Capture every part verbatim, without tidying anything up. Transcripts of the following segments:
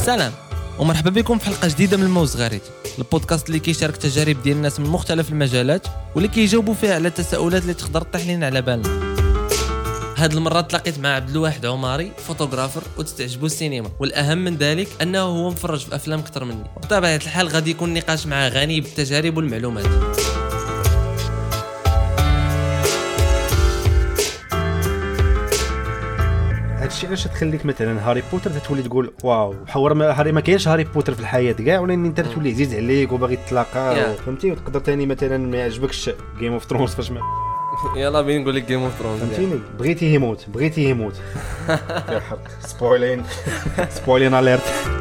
سلام ومرحبا بكم في حلقة جديدة من الموز غريت، البودكاست اللي كيشارك تجارب ديال الناس من مختلف المجالات واللي كيجاوبوا فيها على التساؤلات اللي تقدر تطيح لنا على بالنا. هاد المرة تلاقيت مع عبد الواحد عماري، فوتوغرافر وتستعجبوا السينما، والأهم من ذلك أنه هو مفرج في أفلام أكثر مني. بطبيعة الحال غادي يكون نقاش معاه غني بالتجارب والمعلومات. هادشي علاش تخليك مثلا هاري بوتر تتولي تقول واو حور ما هاري ما كاينش هاري بوتر في الحياه كاع، ولكن انت تولي عزيز عليك وباغي تلاقى yeah. فهمتي. وتقدر ثاني مثلا ما يعجبكش جيم اوف ثرونز فاش ما يلا بين نقول لك جيم اوف ثرونز فهمتيني بغيتي يموت بغيتي يموت كيحرق سبويلين سبويلين اليرت.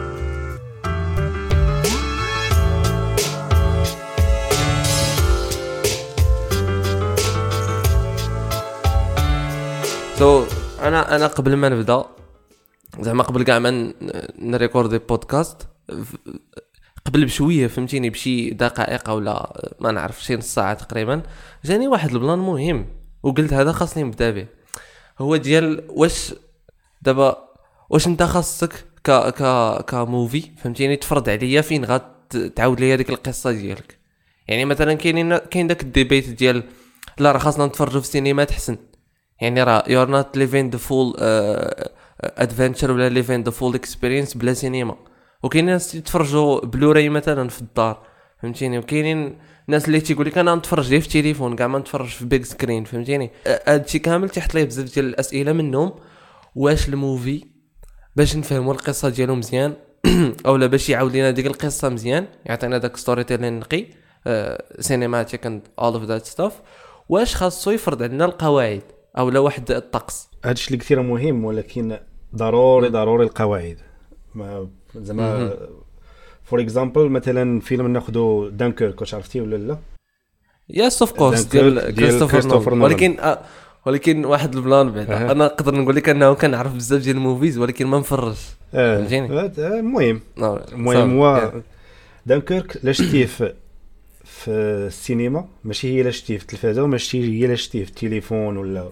سو انا انا قبل ما نبدا زعما قبل كاع ما نريكوردي بودكاست قبل بشويه فهمتيني بشي دقائق ولا ما نعرف شي نص ساعه تقريبا جاني واحد البلان مهم وقلت هذا خاصني نبدا به. هو ديال واش دابا واش انت خاصك ك ك كموفي فهمتيني تفرض عليا فين غتعاود لي هذيك القصه ديالك. يعني مثلا كاينين كاين داك الديبيت ديال لا راه خاصنا نتفرجوا في السينما تحسن، يعني راه you're not living the full uh, adventure ولا living the full experience بلا سينما. وكاين ناس يتفرجوا بلوراي مثلا في الدار فهمتيني، وكاينين ناس اللي تيقول لك انا نتفرج ليه في التليفون كاع ما نتفرج في بيج سكرين فهمتيني. هادشي كامل تحت ليه بزاف ديال الاسئله منهم واش الموفي باش نفهموا القصه ديالو مزيان اولا باش يعاود لنا ديك القصه مزيان يعطينا داك ستوري تيلين نقي سينماتيك اند اول اوف ذات ستاف، واش خاصو يفرض علينا القواعد او لا واحد الطقس. هادشي اللي كثير مهم، ولكن ضروري ضروري القواعد ما زعما فور اكزامبل مثلا فيلم ناخذوا دانكيرك واش عرفتي ولا لا؟ يس اوف كورس ديال كريستوفر نولان، ولكن آه ولكن واحد البلان بعد أه. انا نقدر نقول لك انه كنعرف بزاف ديال الموفيز ولكن ما نفرجش فهمتيني. المهم المهم هو دانكيرك لا شتيه في في السينما ماشي هي لا شتيه في التلفازه وماشي هي لا شتيه في التليفون ولا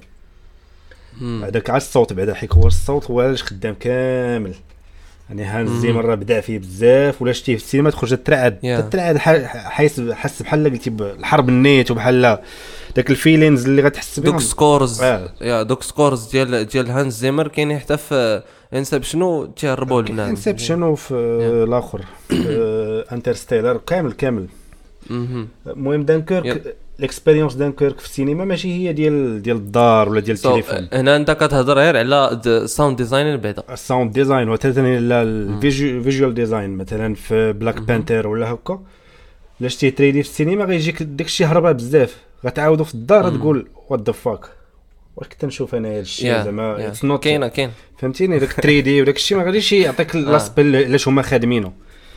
هذاك على الصوت بعدا حيت هو الصوت هو اللي خدام كامل. يعني هانز زيمر راه بدا فيه بزاف ولا شتيه في السينما تخرج ترعد yeah. ترعد حيس حس بحال قلتي الحرب النيت وبحال داك الفيلينز اللي غتحس بهم دوك سكورز آه. يا دوك سكورز ديال ديال هانز زيمر كاين حتى في انسبشن تيهربوا لنا انسبشن وفي الاخر انترستيلر كامل كامل. المهم دانكيرك الاكسبيريونس دانكيرك في السينما ماشي هي ديال ديال الدار ولا ديال التليفون. هنا انت كتهضر غير على الساوند ديزاين بعدا الساوند ديزاين وثاني لا الفيجوال ديزاين مثلا في بلاك بانثر ولا هكا لا شتي ثري دي في السينما غيجيك داكشي هربا بزاف غتعاودو في الدار تقول وات ذا فاك واش كنت نشوف انا هذا الشيء زعما اتس نوت كاين كاين فهمتيني داك ثري دي وداك الشيء ما غاديش يعطيك لاسبل علاش هما خادمينه.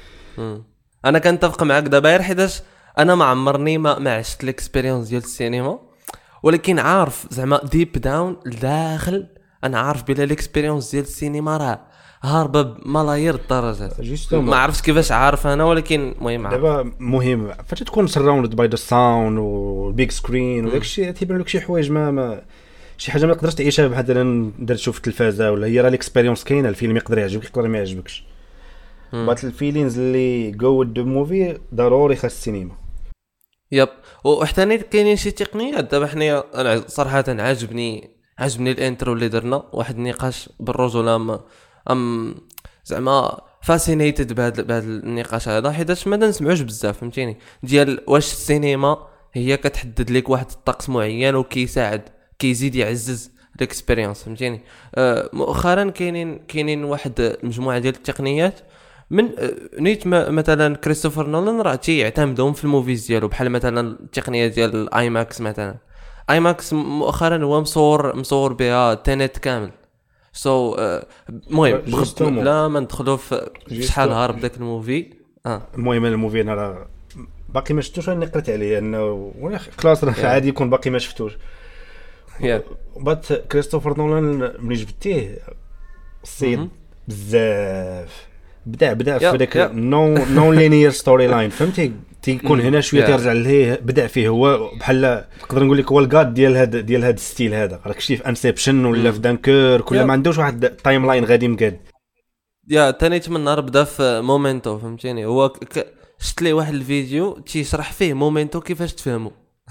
انا كنتفق معاك دابا حيتاش انا ما عمرني ما ما عشت الاكسبيريونس ديال السينما، ولكن عارف زعما ديب داون داخل انا عارف بلا الاكسبيريونس ديال السينما راه هاربه بملايير الدرجات. ما عرفتش كيفاش عارف انا ولكن المهم دابا مهم فاش تكون سراوند باي ذا ساوند والبيج سكرين وداك الشيء تيبان لك شي حوايج ما, ما شي حاجه ما تقدرش تعيشها مثلا درت تشوف التلفازه ولا هي راه الاكسبيريونس كاينه. الفيلم يقدر يعجبك يقدر ما يعجبكش بات الفيلينز اللي جو ذا موفي ضروري خاص السينما. يب وحتى كاينين شي تقنيات دابا حنايا انا صراحه عاجبني عاجبني الانترو اللي درنا واحد النقاش بالرجوله ام ام زعما فاسينيتد بهذا بهذا النقاش هذا حيت ما نسمعوش بزاف فهمتيني ديال واش السينما هي كتحدد لك واحد الطقس معين وكيساعد كيزيد يعزز الاكسبيريونس فهمتيني. آه مؤخرا كاينين كاينين واحد المجموعه ديال التقنيات من نيت مثلا كريستوفر نولان راه تيعتمدهم في الموفيز ديالو بحال مثلا التقنيه ديال الاي ماكس. مثلا اي ماكس مؤخرا هو مصور مصور بها تنت كامل. سو المهم so, uh, لا ما ندخلوا في شحال هارب داك الموفي. اه المهم الموفي انا راه باقي ما شفتوش انا قريت عليه انه خلاص راه عادي يكون باقي ما شفتوش. يا بات كريستوفر نولان ملي جبتيه السيد بزاف بدا بدا في داك نو نو لينير ستوري لاين فهمتي تيكون هنا شويه ترجع ليه بدا فيه هو بحال نقدر نقول لك هو الغاد ديال هذا ديال هذا الستيل هذا راك شتي في انسبشن ولا في دانكير كل ما عندوش واحد تايم لاين غادي مقاد يا تاني من نهار بدا في مومنتو فهمتيني. هو ك... شفت لي واحد الفيديو تيشرح فيه مومنتو كيفاش تفهمو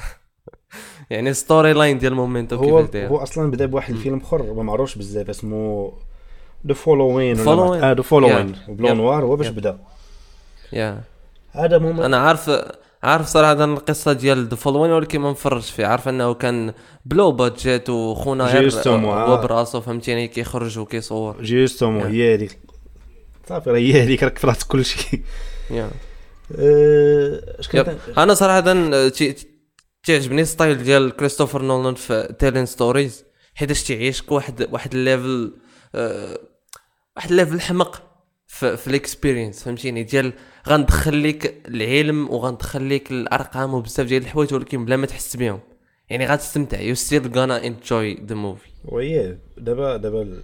يعني ستوري لاين ديال مومنتو هو كيفاش داير. هو اصلا بدا بواحد الفيلم اخر ما معروفش بزاف اسمه دو فولوين ولا اه دو فولوين بلون نوار. هو باش بدا يا هذا مومنت. انا عارف عارف صراحه القصه ديال ذا فولوين ولكن ما نفرجش فيه. عارف انه كان بلو بادجيت وخونا غير هو براسو فهمتيني كيخرج وكيصور جوستومون هي هذيك صافي راه هي هذيك راك فرات كل شيء. يا اش كنت انا صراحه تعجبني ستايل ديال كريستوفر نولان في تيلين ستوريز حيتاش تعيشك واحد واحد الليفل أه واحد الليفل حمق في في الاكسبيرينس فهمتيني ديال غندخل لك العلم وغندخل لك الارقام وبزاف ديال الحوايج ولكن بلا ما تحس بهم يعني غتستمتع. يو ستيل غانا انجوي ذا موفي. وي دابا دابا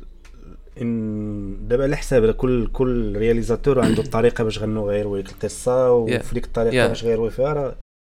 ان دابا على حساب كل كل رياليزاتور عنده الطريقه باش غنو غيروي القصه وفي ديك الطريقه باش غيروي فيها راه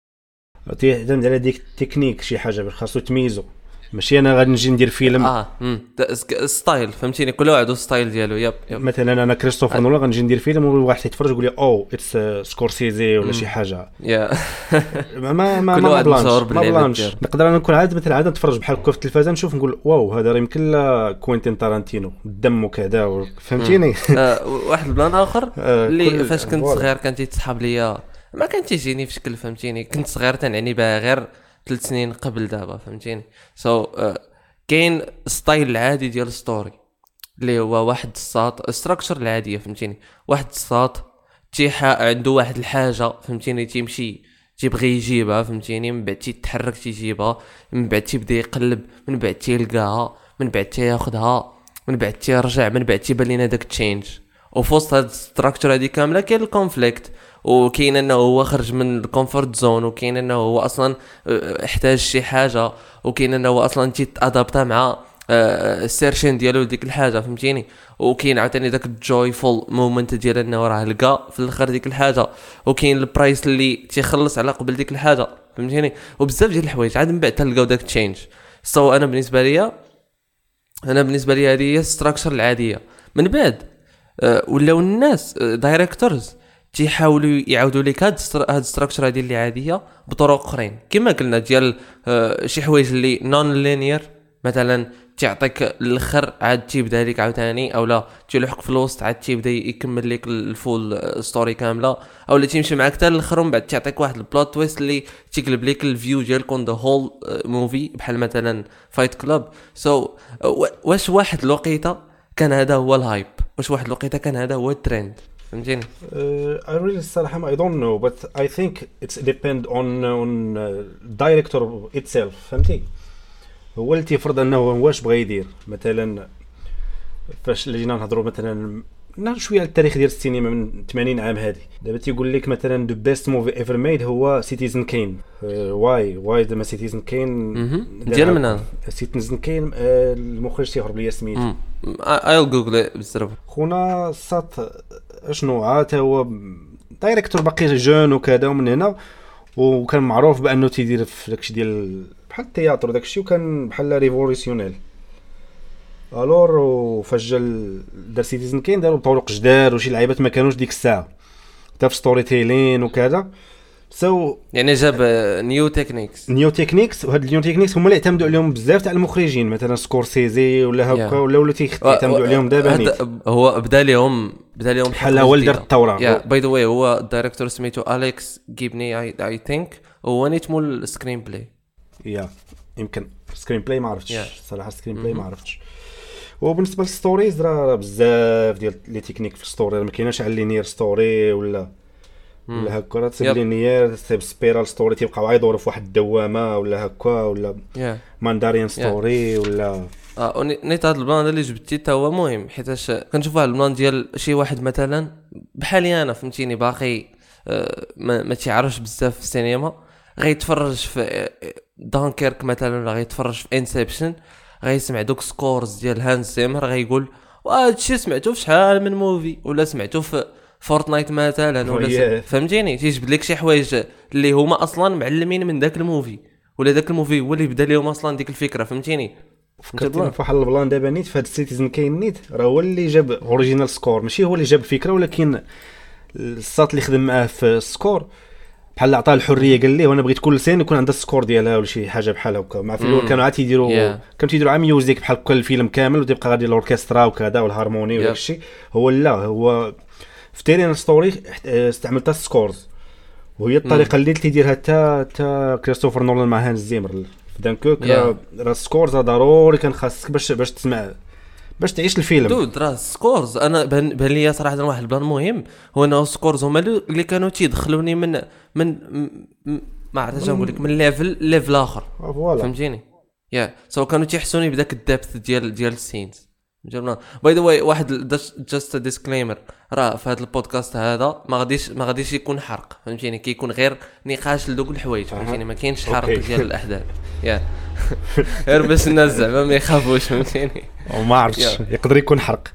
تعتمد على ديك التكنيك شي حاجه باش خاصو تميزو. ماشي انا غادي نجي ندير فيلم اه ستايل فهمتيني كل واحد ستايل ديالو. ياب مثلا انا كريستوفر نولان غنجي ندير فيلم وواحد يتفرج يقول لي او اتس سكورسيزي ولا شي حاجه يا ما ما ما ما بلانش نقدر انا نكون عاد مثلا عاد نتفرج بحال هكا في التلفازه نشوف نقول واو هذا راه يمكن لا كوينتين تارانتينو الدم وكذا فهمتيني. واحد البلان اخر اللي فاش كنت صغير كان تيتصحاب ليا ما كان تيجيني في شكل فهمتيني. كنت صغير تنعني بها غير ثلاث سنين قبل دابا فهمتيني. سو so, uh, كاين ستايل العادي ديال ستوري اللي هو واحد الساط ستراكشر العاديه فهمتيني. واحد الساط تيحا عنده واحد الحاجه فهمتيني تيمشي تيبغي يجيبها فهمتيني من بعد تيتحرك تيجيبها من بعد تيبدا يقلب من بعد تيلقاها من بعد تياخذها من بعد تيرجع من بعد تيبان لينا داك تشينج. وفوسط هاد الستراكشر هادي كامله كاين الكونفليكت وكاين انه هو خرج من الكومفورت زون وكاين انه هو اصلا احتاج شي حاجه وكاين انه هو اصلا تيتادابتا مع السيرشين ديالو ديك الحاجه فهمتيني. وكاين عاوتاني داك الجويفول مومنت ديال انه راه لقى في الاخر ديك الحاجه وكاين البرايس اللي تيخلص على قبل ديك الحاجه فهمتيني. وبزاف ديال الحوايج عاد من بعد تلقاو داك تشينج. سو انا بالنسبه ليا انا بالنسبه لي هذه هي الستراكشر العاديه. من بعد ولاو الناس دايريكتورز تيحاولوا يعاودوا لك هاد هاد الستراكشر هذه اللي عاديه بطرق اخرين كما قلنا ديال آه شي حوايج اللي نون لينير مثلا تعطيك الاخر عاد تيبدا لك عاوتاني اولا تيلحق في الوسط عاد تيبدا يكمل لك الفول ستوري كامله اولا تيمشي معاك حتى الاخر ومن بعد تعطيك واحد البلوت تويست اللي تيقلب لك الفيو ديالكم ذا هول موفي بحال مثلا فايت كلوب. سو so, واش واحد الوقيته كان هذا هو الهايب واش واحد الوقيته كان هذا هو الترند فهمتيني. uh, I really الصراحه I don't know but I think it's depend on on uh, director itself فهمتي. هو اللي تيفرض انه واش بغى يدير. مثلا فاش لجينا نهضروا مثلا نهضر شويه على التاريخ ديال السينما من ثمانين عام هذه دابا تيقول لك مثلا the best movie ever made هو سيتيزن كين. واي واي زعما سيتيزن كين ديال من سيتيزن كين المخرج تيهرب ليا سميتو ايل جوجل بزاف خونا صات اشنو عاد هو دايريكتور باقي جون وكذا ومن هنا وكان معروف بانه تيدير في داكشي ديال بحال التياتر داكشي وكان بحال ريفولوسيونيل. الور وفاش جا دار سيتيزن كين داروا طرق جداد وشي لعيبات ما كانوش ديك الساعه حتى في ستوري تيلين وكذا. سو so, يعني جاب نيو تكنيكس نيو تكنيكس وهاد النيو تكنيكس هما اللي اعتمدوا عليهم بزاف تاع المخرجين مثلا سكورسيزي ولا هكا yeah. ولا ولا تيعتمدوا عليهم دابا نيت. هو بدا لهم بدا لهم بحال هو اللي دار الثوره. يا باي ذا واي هو الدايريكتور سميتو اليكس جيبني اي اي ثينك هو نيت مول السكرين بلاي. يا يمكن سكرين بلاي ما عرفتش yeah. صراحه سكرين بلاي ما عرفتش. وبالنسبه للستوريز راه بزاف ديال لي تكنيك في الستوري ما كايناش على لينير ستوري ولا ولا هكا راه تسيب لينير تسيب سبيرال ستوري تيبقاو يدوروا في واحد الدوامه ولا هكا ولا ماندارين ستوري ولا اه نيت هذا البلان اللي جبتي حتى هو مهم حيتاش كنشوف واحد البلان ديال شي واحد مثلا بحالي انا فهمتيني باقي آه ما, ما تيعرفش بزاف في السينما غيتفرج في دانكيرك مثلا ولا غيتفرج في انسبشن غيسمع دوك سكورز ديال هانز زيمر غيقول وهذا الشيء سمعته في شحال من موفي ولا سمعته في فورتنايت مثلا ولا فهمتيني تيجبد لك شي حوايج اللي هما اصلا معلمين من داك الموفي ولا داك الموفي هو اللي بدا لهم اصلا ديك الفكره فهمتيني. فكرتني في واحد البلان دابا نيت في هاد السيتيزن كاين نيت راه هو اللي جاب اوريجينال سكور ماشي هو اللي جاب الفكره ولكن الساط اللي خدم معاه في السكور بحال عطاه الحريه قال ليه وانا بغيت كل سين يكون عندها السكور ديالها ولا شي حاجه بحال هكا مع في الاول كانوا عاد تيديروا yeah. كانوا تيديروا عا ميوزيك بحال كل الفيلم كامل وتبقى غادي الاوركسترا وكذا والهارموني وداك الشيء هو لا هو في تيرين ستوري استعملت السكورز وهي الطريقه اللي تيديرها حتى حتى كريستوفر نولان مع هانز زيمر في دانكوك yeah. راه السكورز ضروري كان خاصك باش باش تسمع باش تعيش الفيلم دود راه سكورز انا بان بان لي صراحه واحد البلان مهم هو انه سكورز هما اللي كانوا تيدخلوني من من ما عرفتش نقول لك من ليفل ليفل اخر فهمتيني يا سو كانوا تيحسوني بداك الدبث ديال ديال السينز جبنا باي ذا واي واحد جاست ديسكليمر راه في هذا البودكاست هذا ما غاديش ما غاديش يكون حرق فهمتيني كيكون غير نقاش لدوك الحوايج فهمتيني ما كاينش حرق ديال الاحداث يا غير باش الناس زعما ما يخافوش فهمتيني وما عرفتش يقدر يكون حرق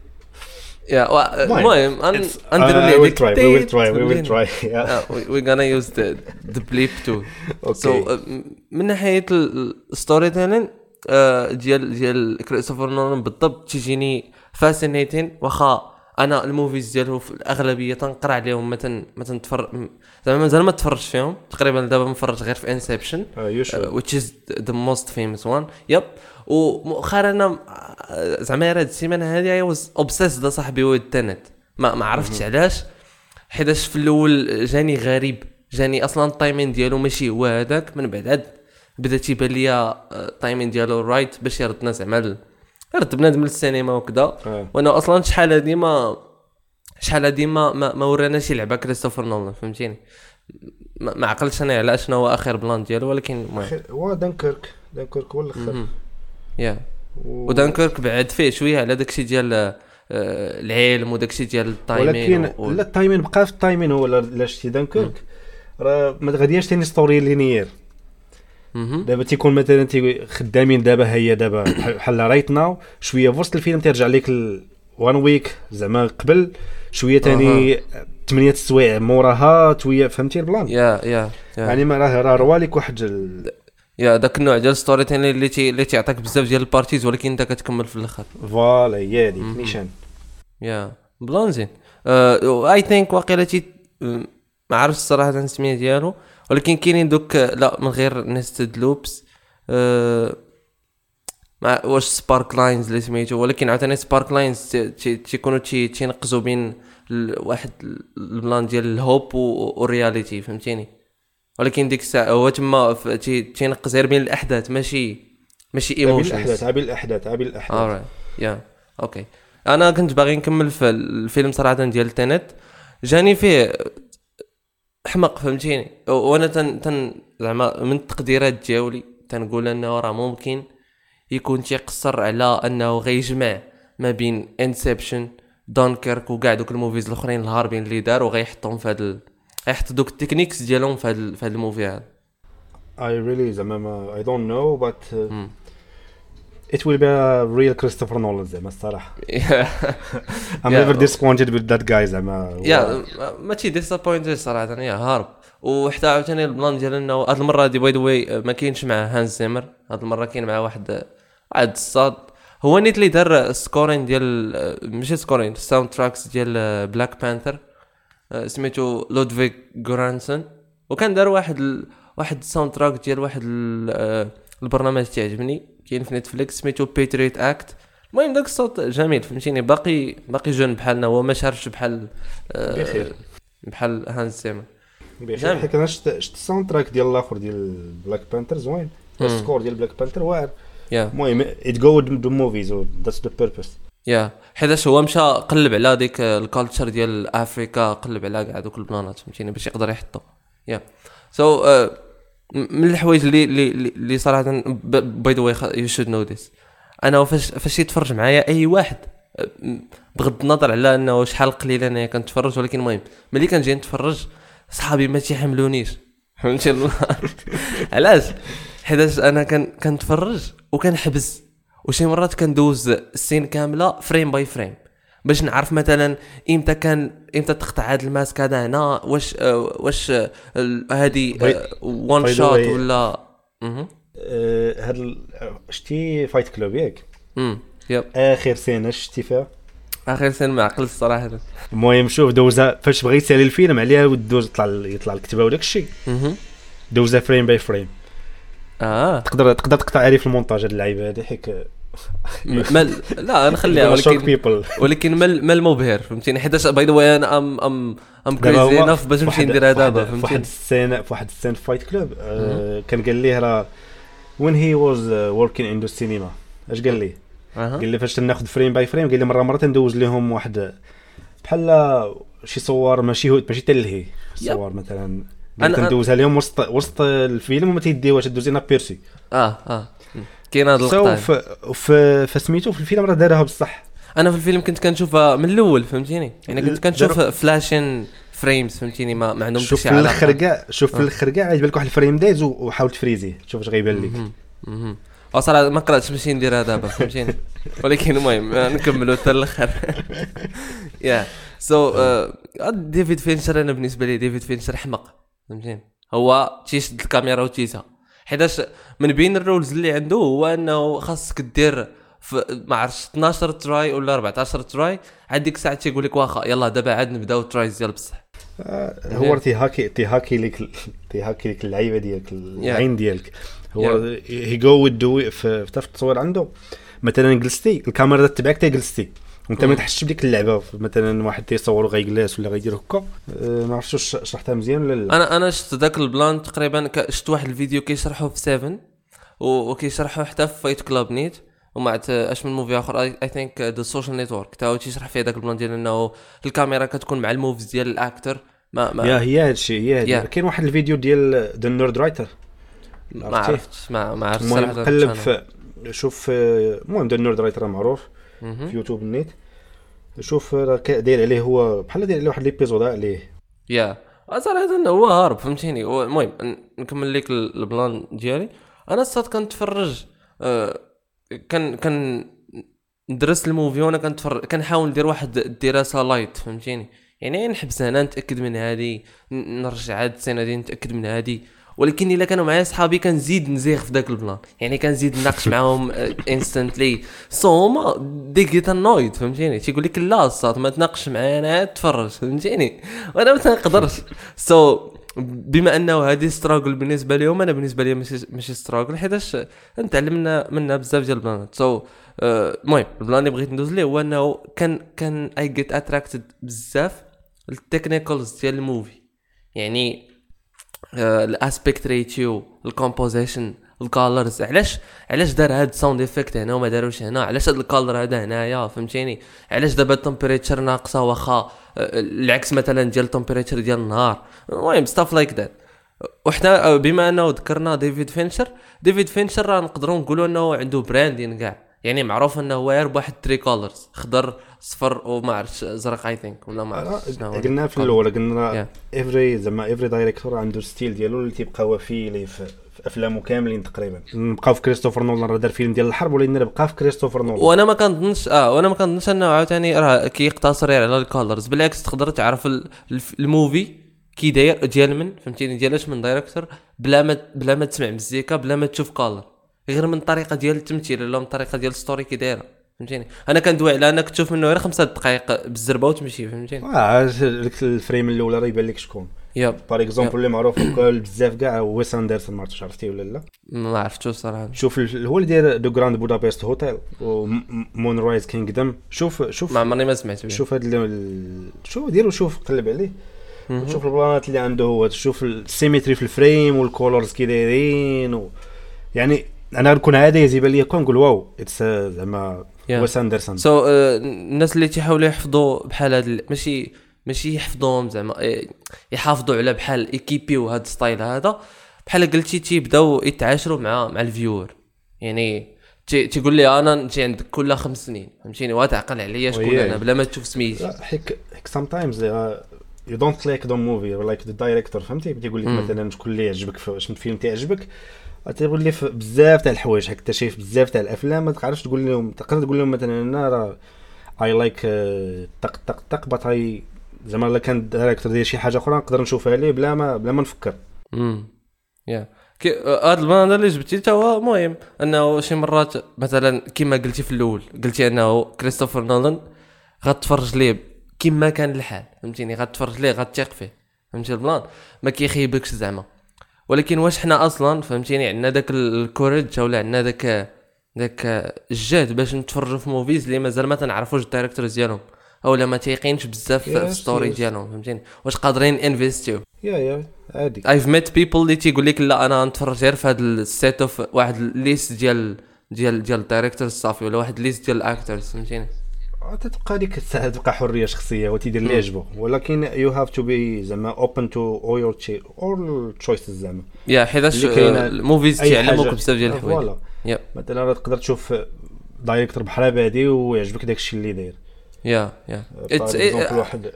يا المهم نديروا ليه وي تراي وي تراي وي تراي وي غانا يوز ذا ذا بليب تو سو من ناحيه الستوري تيلين ديال ديال كريستوفر نولان بالضبط تيجيني فاسينيتين واخا انا الموفيز ديالو في الاغلبيه تنقرا عليهم مثلا مثلا تفر زعما مازال ما تفرجت فيهم تقريبا دابا مفرج غير في انسبشن which is the most famous one يب ومؤخرا انا زعما هاد السيمانه هذه I was obsessed صاحبي هو التنت ما ما عرفتش علاش حيتاش في الاول جاني غريب جاني اصلا التايمين ديالو ماشي هو هذاك من بعد عاد بدا تيبان ليا التايمين ديالو رايت باش يردنا زعما رد بنادم للسينما وكذا وانا اصلا شحال هادي ما شحال هادي ما ما وراناش يلعب كريستوفر نولان فهمتيني ما, ما عقلتش انا على شنو هو اخر بلان ديالو ولكن هو دانكيرك دانكيرك هو الاخر يا ودانكيرك بعد فيه شويه على داكشي ديال العلم وداكشي ديال التايمين ولكن و... لا التايمين بقى في التايمين هو لا شتي دانكيرك راه ما غادياش ثاني ستوري لينيير دابا تيكون مثلا تي خدامين دابا هي دابا بحال رايت ناو شويه في وسط الفيلم ترجع لك وان ويك زعما قبل شويه ثاني ثمانية سوايع موراها تويه فهمتي البلان يا يا يعني ما راه راه روالك واحد ال... يا داك النوع ديال ستوري ثاني اللي تي اللي تيعطيك بزاف ديال البارتيز ولكن انت كتكمل في الاخر فوالا هي ديك نيشان يا بلان زين اي ثينك واقيلا تي ما عرفتش الصراحه السميه ديالو ولكن كاينين دوك لا من غير نيستد لوبس أه ما واش سبارك لاينز اللي سميتو ولكن عاوتاني سبارك لاينز تيكونوا تي تينقزوا بين واحد البلان ديال الهوب والرياليتي فهمتيني ولكن ديك الساعه هو تما تينقز غير بين الاحداث ماشي ماشي ايموشنز الاحداث عبي الاحداث عبي الاحداث يا اوكي انا كنت باغي نكمل في الفيلم صراحه ديال تينت جاني فيه احمق فهمتيني وانا تن تن زعما من التقديرات ديالي تنقول انه راه ممكن يكون تيقصر على انه غيجمع ما بين انسبشن دانكيرك وكاع دوك الموفيز الاخرين الهاربين اللي دار وغيحطهم في هذا غيحط دوك التكنيكس ديالهم في هذا في هذا الموفي هذا I really زعما I don't know but uh, mm. it will be a real Christopher Nolan زعما الصراحه I'm yeah. never disappointed with that guy زعما يا ما تي disappointed صراحه يا هارب وحتى عاوتاني البلان ديال انه هاد المره دي باي ذا واي ما كاينش مع هانز زيمر هاد المره كاين مع واحد عاد الصاد هو نيت اللي دار سكورين ديال ماشي سكورين الساوند تراكس ديال بلاك بانثر سميتو لودفيغ غورانسون وكان دار واحد ال... واحد الساوند تراك ديال واحد ال... البرنامج تعجبني كاين في نتفليكس سميتو بيتريت اكت المهم داك الصوت جميل فهمتيني باقي باقي جون بحالنا هو ما شارش بحال بخير بحال هانز زيمر بخير حيت انا شفت شفت الساوند تراك ديال الاخر ديال بلاك بانثر زوين السكور ديال بلاك بانثر واعر المهم ات جو دو موفيز ذاتس ذا بيربس يا حيتاش هو مشى قلب على ديك الكالتشر ديال افريكا قلب على كاع دوك البلانات فهمتيني باش يقدر يحطو يا سو من الحوايج اللي اللي اللي صراحه باي ذا واي يو شود نو ذيس انا فاش فاش يتفرج معايا اي واحد بغض النظر على انه شحال قليل انا كنتفرج ولكن المهم ملي كنجي نتفرج صحابي ما تيحملونيش فهمتي علاش حيت انا كان كنتفرج وكنحبس وشي مرات كندوز السين كامله فريم باي فريم باش نعرف مثلا امتى كان امتى تقطع هذا الماسك هذا هنا واش واش هذه وان شوت ولا هاد ال- شتي فايت كلوب ياك امم يب اخر سنه شتي فيها اخر سنه ما عقلت الصراحه. المهم شوف دوزا فاش بغى يسالي الفيلم عليها ودوز يطلع يطلع الكتابه وداك الشيء اها دوزا فريم باي فريم. اه تقدر تقدر تقطع عليه في المونتاج هاد اللعيبه هادي حيت مال لا نخليها شوك ولكن بيبل. ولكن مال مال مبهر فهمتيني حيت باي ذا واي انا ام ام ام كريزي انف باش نمشي نديرها دابا في واحد فهمتيني. السنه في واحد السنه فايت كلوب آه كان قال ليه راه وين هي واز وركين ان ذا سينما اش قال لي اها قال لي فاش ناخذ فريم باي فريم قال لي مره مره تندوز لهم واحد بحال شي صور ماشي هو ماشي تلهي صور مثلا أنا- تندوزها لهم وسط وسط الفيلم وما تيديوهاش تدوزينا بيرسي اه اه كاين هذا سو اللقطه. في فسميتو في الفيلم راه دارها بصح. انا في الفيلم كنت كنشوفها من الاول فهمتيني يعني كنت كنشوف داروا- فلاشين فريمز فهمتيني ما, ما عندهم شوف شي في علاقه. الاخر كاع شوف في آه. الاخر كاع عجبك واحد الفريم دايز وحاول تفريزيه شوف اش غيبان لك. مهم. مهم. اصلا ما قراتش باش نديرها دابا فهمتيني ولكن المهم نكملوا حتى الاخر. يا سو ديفيد فينشر انا بالنسبه لي ديفيد فينشر حمق فهمتيني. هو تيشد الكاميرا وتيسا حيتاش من بين الرولز اللي عنده هو انه خاصك دير في ما عرفتش اثناش تراي ولا أربعطاش تراي هذيك الساعه تيقول لك واخا يلا دابا عاد نبداو ترايز ديال بصح. آه هو تي هاكي تي هاكي لك تي هاكي لك اللعيبه ديالك العين ديالك هو هي جو ودو في في التصوير عنده مثلا جلستي الكاميرا تتبعك تي جلستي وانت ما تحسش بديك اللعبه مثلا واحد تيصور غيجلس ولا غيدير هكا أه ما عرفتش واش شرحتها مزيان ولا لا. انا انا شفت ذاك البلان تقريبا شفت واحد الفيديو كيشرحوه في سبعة وكيشرحوه حتى في فايت كلاب نيت ومع اش من موفي اخر اي ثينك ذا سوشيال نيتورك تاو تيشرح فيه ذاك البلان ديال انه الكاميرا كتكون مع الموفز ديال الاكتر ما ما يا هي هادشي هي هادي Yeah. كاين واحد الفيديو ديال ذا نورد رايتر ما عرفتش ما ما عرفتش المهم صراحه. قلب في شوف آه، المهم ذا نورد رايتر معروف مهم. في يوتيوب النيت شوف راه كا- داير عليه هو بحال داير عليه واحد ليبيزود عليه يا صراحه انه هو هارب فهمتيني. هو- المهم ن- نكمل لك ال- البلان ديالي. انا صات كنتفرج آه، كان كان ندرس الموفي وانا كنتفرج كنحاول ندير واحد الدراسه لايت فهمتيني يعني نحبس هنا نتاكد من هذه نرجع هاد السنه دي نتاكد من هذه. ولكن الا كانوا معايا صحابي كنزيد نزيغ في داك البلان يعني كنزيد نناقش معاهم انستنتلي سو هما دي جيت انويد فهمتيني تيقول لك لا صات ما تناقش معايا انا تفرج فهمتيني وانا ما تنقدرش. سو بما انه هذه ستراغل بالنسبه لهم انا بالنسبه لي ماشي ماشي ستراغل حيتاش نتعلمنا منها بزاف ديال البلانات. سو المهم البلان اللي بغيت ندوز ليه هو انه كان كان اي جيت اتراكتد بزاف التكنيكالز ديال الموفي يعني الاسبيكت ريتيو الكومبوزيشن الكالرز علاش علاش دار هاد ساوند افكت هنا وما داروش هنا علاش هاد الكالر هذا هنايا فهمتيني علاش دابا التمبريتشر ناقصه واخا العكس مثلا ديال التمبريتشر ديال النهار. المهم ستاف لايك ذات. وحتى بما انه ذكرنا ديفيد فينشر ديفيد فينشر راه نقدروا نقولوا انه عنده براندين كاع يعني معروف انه هو يربح واحد تري كولرز خضر صفر وما عرفتش ازرق اي ثينك ولا ما عرفتش شنو هو. قلنا في الاول قلنا Yeah. افري زعما افري دايريكتور عنده ستيل ديالو اللي تيبقى وفي ليه في في افلامه كاملين تقريبا. نبقاو في كريستوفر نولان راه دار فيلم ديال الحرب ولكن نبقى في كريستوفر نولان وانا ما كنظنش اه وانا ما كنظنش انه عاوتاني راه كيقتصر على الكولرز بالعكس تقدر تعرف ال- الف- الموفي كي داير ديال من فهمتيني ديالاش من دايركتور بلا ما بلا ما تسمع مزيكا بلا ما تشوف كولر غير من الطريقه ديال التمثيل ولا من الطريقه ديال الستوري كي دايره فهمتيني. انا كندوي على انك تشوف منه غير خمسة دقائق بالزربه وتمشي فهمتيني. اه ديك الفريم الاولى راه يبان لك شكون ياب بار اكزومبل اللي معروف بزاف كاع هو ويس اندرسون ما عرفتش عرفتيه ولا لا. ما عرفتش صراحه. شوف ال- هو اللي داير دو جراند بودابست هوتيل ومون رايز كينغدم شوف شوف ما عمرني ما سمعت به. شوف هاد ال- شوف ديرو شوف قلب عليه شوف البلانات اللي عنده هو شوف السيمتري في الفريم والكولرز كي دايرين و... يعني انا نكون عادي يزيبان ليا كون نقول واو اتس زعما Yeah. ويس اندرسون. سو so, uh, الناس اللي تيحاولوا يحفظوا بحال هاد ماشي ماشي يحفظوهم زعما إيه، يحافظوا على بحال ايكيبيو هاد ستايل هذا بحال قلتي تيبداو يتعاشروا مع مع الفيور يعني تي تيقول لي انا نجي عندك كل خمس سنين فهمتيني وتعقل عليا شكون ويه. انا بلا ما تشوف سميتي. لا هيك هيك sometimes يو دونت لايك ذا موفي لايك ذا دايريكتور فهمتي بيقول لك مثلا شكون اللي يعجبك في الفيلم تيعجبك تيقول لي بزاف تاع الحوايج هكا شايف بزاف تاع الافلام ما تقدرش تقول لهم تقدر تقول لهم مثلا انا راه اي لايك طق طق طق بطاي زعما الا كان دايريكتور ديال شي حاجه اخرى نقدر نشوفها ليه بلا ما بلا ما نفكر. امم يا كي هذا البلان اللي جبتي تا هو مهم انه شي مرات مثلا كما قلتي في الاول قلتي انه كريستوفر نولان غتفرج ليه كما كان الحال فهمتيني غتفرج ليه غتثق فيه فهمتي البلان ما كيخيبكش زعما ولكن واش حنا اصلا فهمتيني عندنا داك الكوريج ولا عندنا داك داك الجهد باش نتفرجوا في موفيز اللي مازال ما تنعرفوش الدايركتورز ديالهم اولا ما تيقينش بزاف في الستوري ديالهم فهمتيني واش قادرين انفيستيو يا يا عادي I've met people اللي تيقول لك لا انا نتفرج غير في هذا السيت اوف واحد الليست ديال ديال ديال الدايركتورز صافي ولا واحد الليست ديال الاكتورز فهمتيني تتبقى ديك الساعه تبقى حريه شخصيه وتيدير اللي يعجبو ولكن يو هاف تو بي زعما اوبن تو اول يور تشي اول تشويسز زعما يا حيتاش الموفيز تيعلموك بزاف ديال الحوايج مثلا تقدر تشوف دايركتور بحال بادي ويعجبك داكشي اللي داير يا يا اتس واحد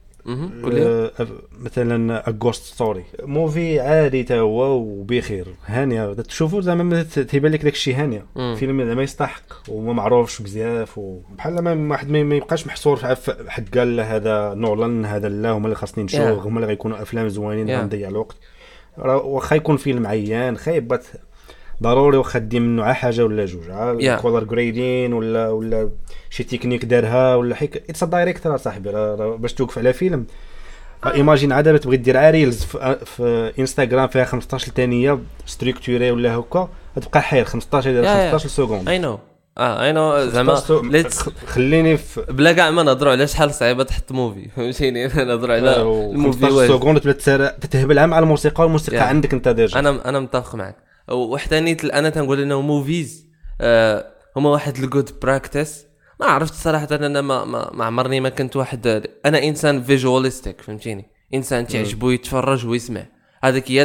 مثلا اغوست ستوري موفي عادي تا هو وبخير هانيه تشوفوا زعما تيبان لك داكشي هانيه فيلم زعما يستحق وما معروفش بزاف وبحال ما واحد ما يبقاش محصور في حد قال هذا نولان هذا لا هما اللي خاصني نشوف هما اللي غيكونوا افلام زوينين غنضيع الوقت واخا يكون فيلم عيان خايبات ضروري واخا دي منه على حاجه ولا جوج على كولر جريدين ولا ولا شي تكنيك دارها ولا حيك اتس دايريكتور صاحبي باش توقف على فيلم ايماجين عاده تبغي دير ريلز في, في انستغرام فيها خمسطاش ثانيه ستركتوري ولا هكا تبقى حير خمسطاش الى خمسطاش سكوند اي نو اه اي نو زعما ليتس خليني في بلا كاع ما نهضروا على شحال صعيبه تحط موفي فهمتيني نهضروا على الموفي خمسطاش سكوند تتهبل مع الموسيقى والموسيقى yeah. عندك انت ديجا انا انا متفق معك وحدانيت انا تنقول انه موفيز آه هما واحد الجود براكتس ما عرفت صراحه انا ما ما, ما عمرني ما كنت واحد انا انسان فيجواليستيك فهمتيني انسان تعجبو يتفرج ويسمع هذاك هي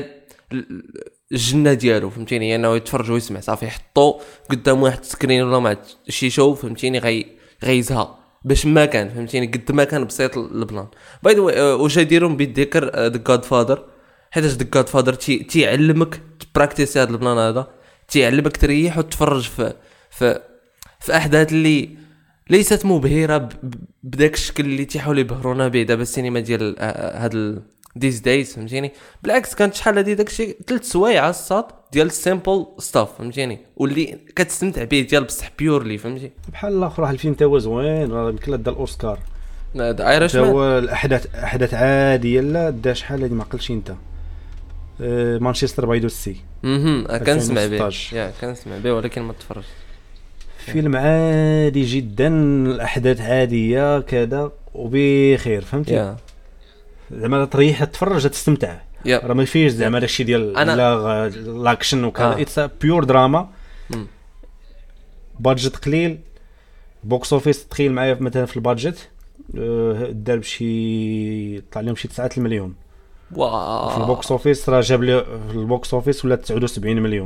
الجنه ديالو فهمتيني انه يتفرج ويسمع صافي يحطو قدام واحد سكرين ولا مع شي شو فهمتيني غي غيزها باش ما كان فهمتيني قد ما كان بسيط البلان باي ذا واي واش يديرون بالذكر ذا جاد فادر حيتاش ذا جاد فادر تي تيعلمك براكتيس هذا البلان هذا تيعلمك تريح وتفرج في في في احداث اللي ليست مبهره بداك الشكل اللي تيحاولوا يبهرونا به دابا السينما ديال هاد ديز دايز فهمتيني بالعكس كانت شحال هادي داكشي ثلاث سوايع الصاد ديال السيمبل ستاف فهمتيني واللي كتستمتع به ديال بصح بيورلي فهمتي بحال الاخر واحد الفيلم تا هو زوين راه يمكن له دا الاوسكار ذا ايرش مان هو الاحداث احداث عاديه لا دا شحال هادي ما عقلتش انت أه مانشستر باي دو سي اها كنسمع به يا كنسمع به ولكن ما تفرجت فيلم عادي جدا الاحداث عاديه كذا وبخير فهمتي yeah. زعما تريح تتفرج تستمتع yeah. راه ما فيش زعما داكشي ديال أنا... لاكشن وكذا اتس بيور دراما بادجت قليل بوكس اوفيس تخيل معايا مثلا في البادجت دار بشي طلع لهم شي تسعة المليون واو في البوكس اوفيس راه جاب لي في البوكس اوفيس ولا تسعة وسبعين مليون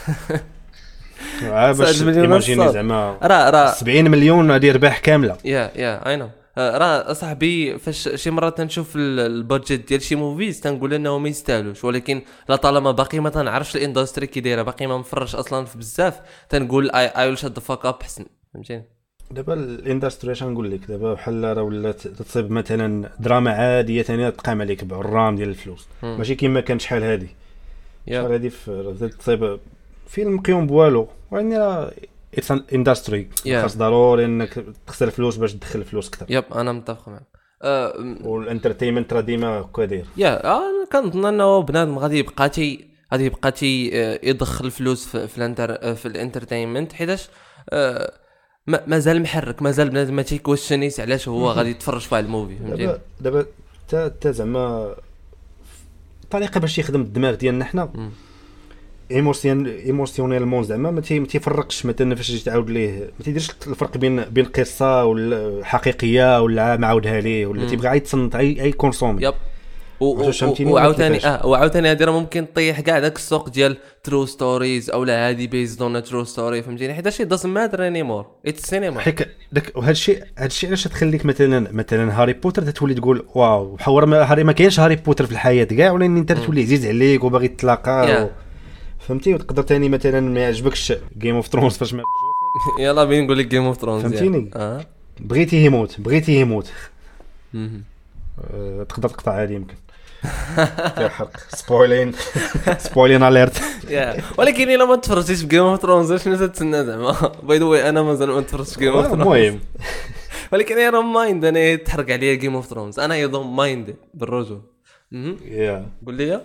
باش ايماجيني زعما راه راه سبعين مليون هذه ربح كامله يا يا اي نو راه صاحبي فاش شي مرات تنشوف البادجت ديال شي موفيز تنقول انه ما يستاهلوش ولكن لا طالما باقي ما تنعرفش الاندستري كي دايره باقي ما مفرج اصلا في بزاف تنقول اي ويل شات ذا فاك اب حسن فهمتيني دابا الاندستري اش نقول لك دابا بحال راه ولات تصيب مثلا دراما عاديه ثاني تقام عليك بالرام ديال الفلوس ماشي كيما كانت شحال هذه شحال هذه في تصيب فيلم قيوم بوالو يعني راه اتس ان اندستري خاص ضروري انك تخسر فلوس باش تدخل فلوس اكثر يب انا متفق معك أه والانترتينمنت راه ديما هكا داير يا انا كنظن انه بنادم غادي يبقى تي غادي يبقى تي يدخل فلوس في في الانتر في الانترتينمنت حيتاش أه مازال محرك مازال بنادم ما تيكويشنيس علاش هو غادي يتفرج في هذا الموفي فهمتي دابا حتى حتى زعما الطريقه باش يخدم الدماغ ديالنا حنا ايموسيون ايموسيونيلمون زعما ما تيفرقش مثلا فاش تجي تعاود ليه ما تيديرش الفرق بين بين قصه ولا حقيقيه ولا معاودها ليه ولا تيبغي غيتصنت اي اي كونسومي يب وعاوتاني اه وعاوتاني هادي راه ممكن طيح كاع داك السوق ديال ترو ستوريز اولا هادي بيزد اون ترو ستوري فهمتيني حيت هادشي دازنت ماتر انيمور اتس سينما حيت داك وهذا الشيء هذا الشيء علاش تخليك مثلا مثلا هاري بوتر تتولي تقول واو بحال ما هاري ما كاينش هاري بوتر في الحياه كاع ولا انت تولي عزيز عليك وباغي تلاقى فهمتي وتقدر ثاني مثلا ما يعجبكش جيم اوف ثرونز فاش مات جوفري يلا بين نقول لك جيم اوف ثرونز فهمتيني اه بغيتي يموت بغيتي يموت أه تقدر تقطع هذه يمكن فيها حرق سبويلين سبويلين اليرت. ولكن الا ما تفرجتيش في جيم اوف ثرونز شنو تتسنى زعما؟ باي ذا واي انا مازال ما تفرجتش في جيم اوف ثرونز. المهم ولكن انا مايند انا تحرق عليا جيم اوف ثرونز، انا ايضا مايند بالرجوع. يا قول لي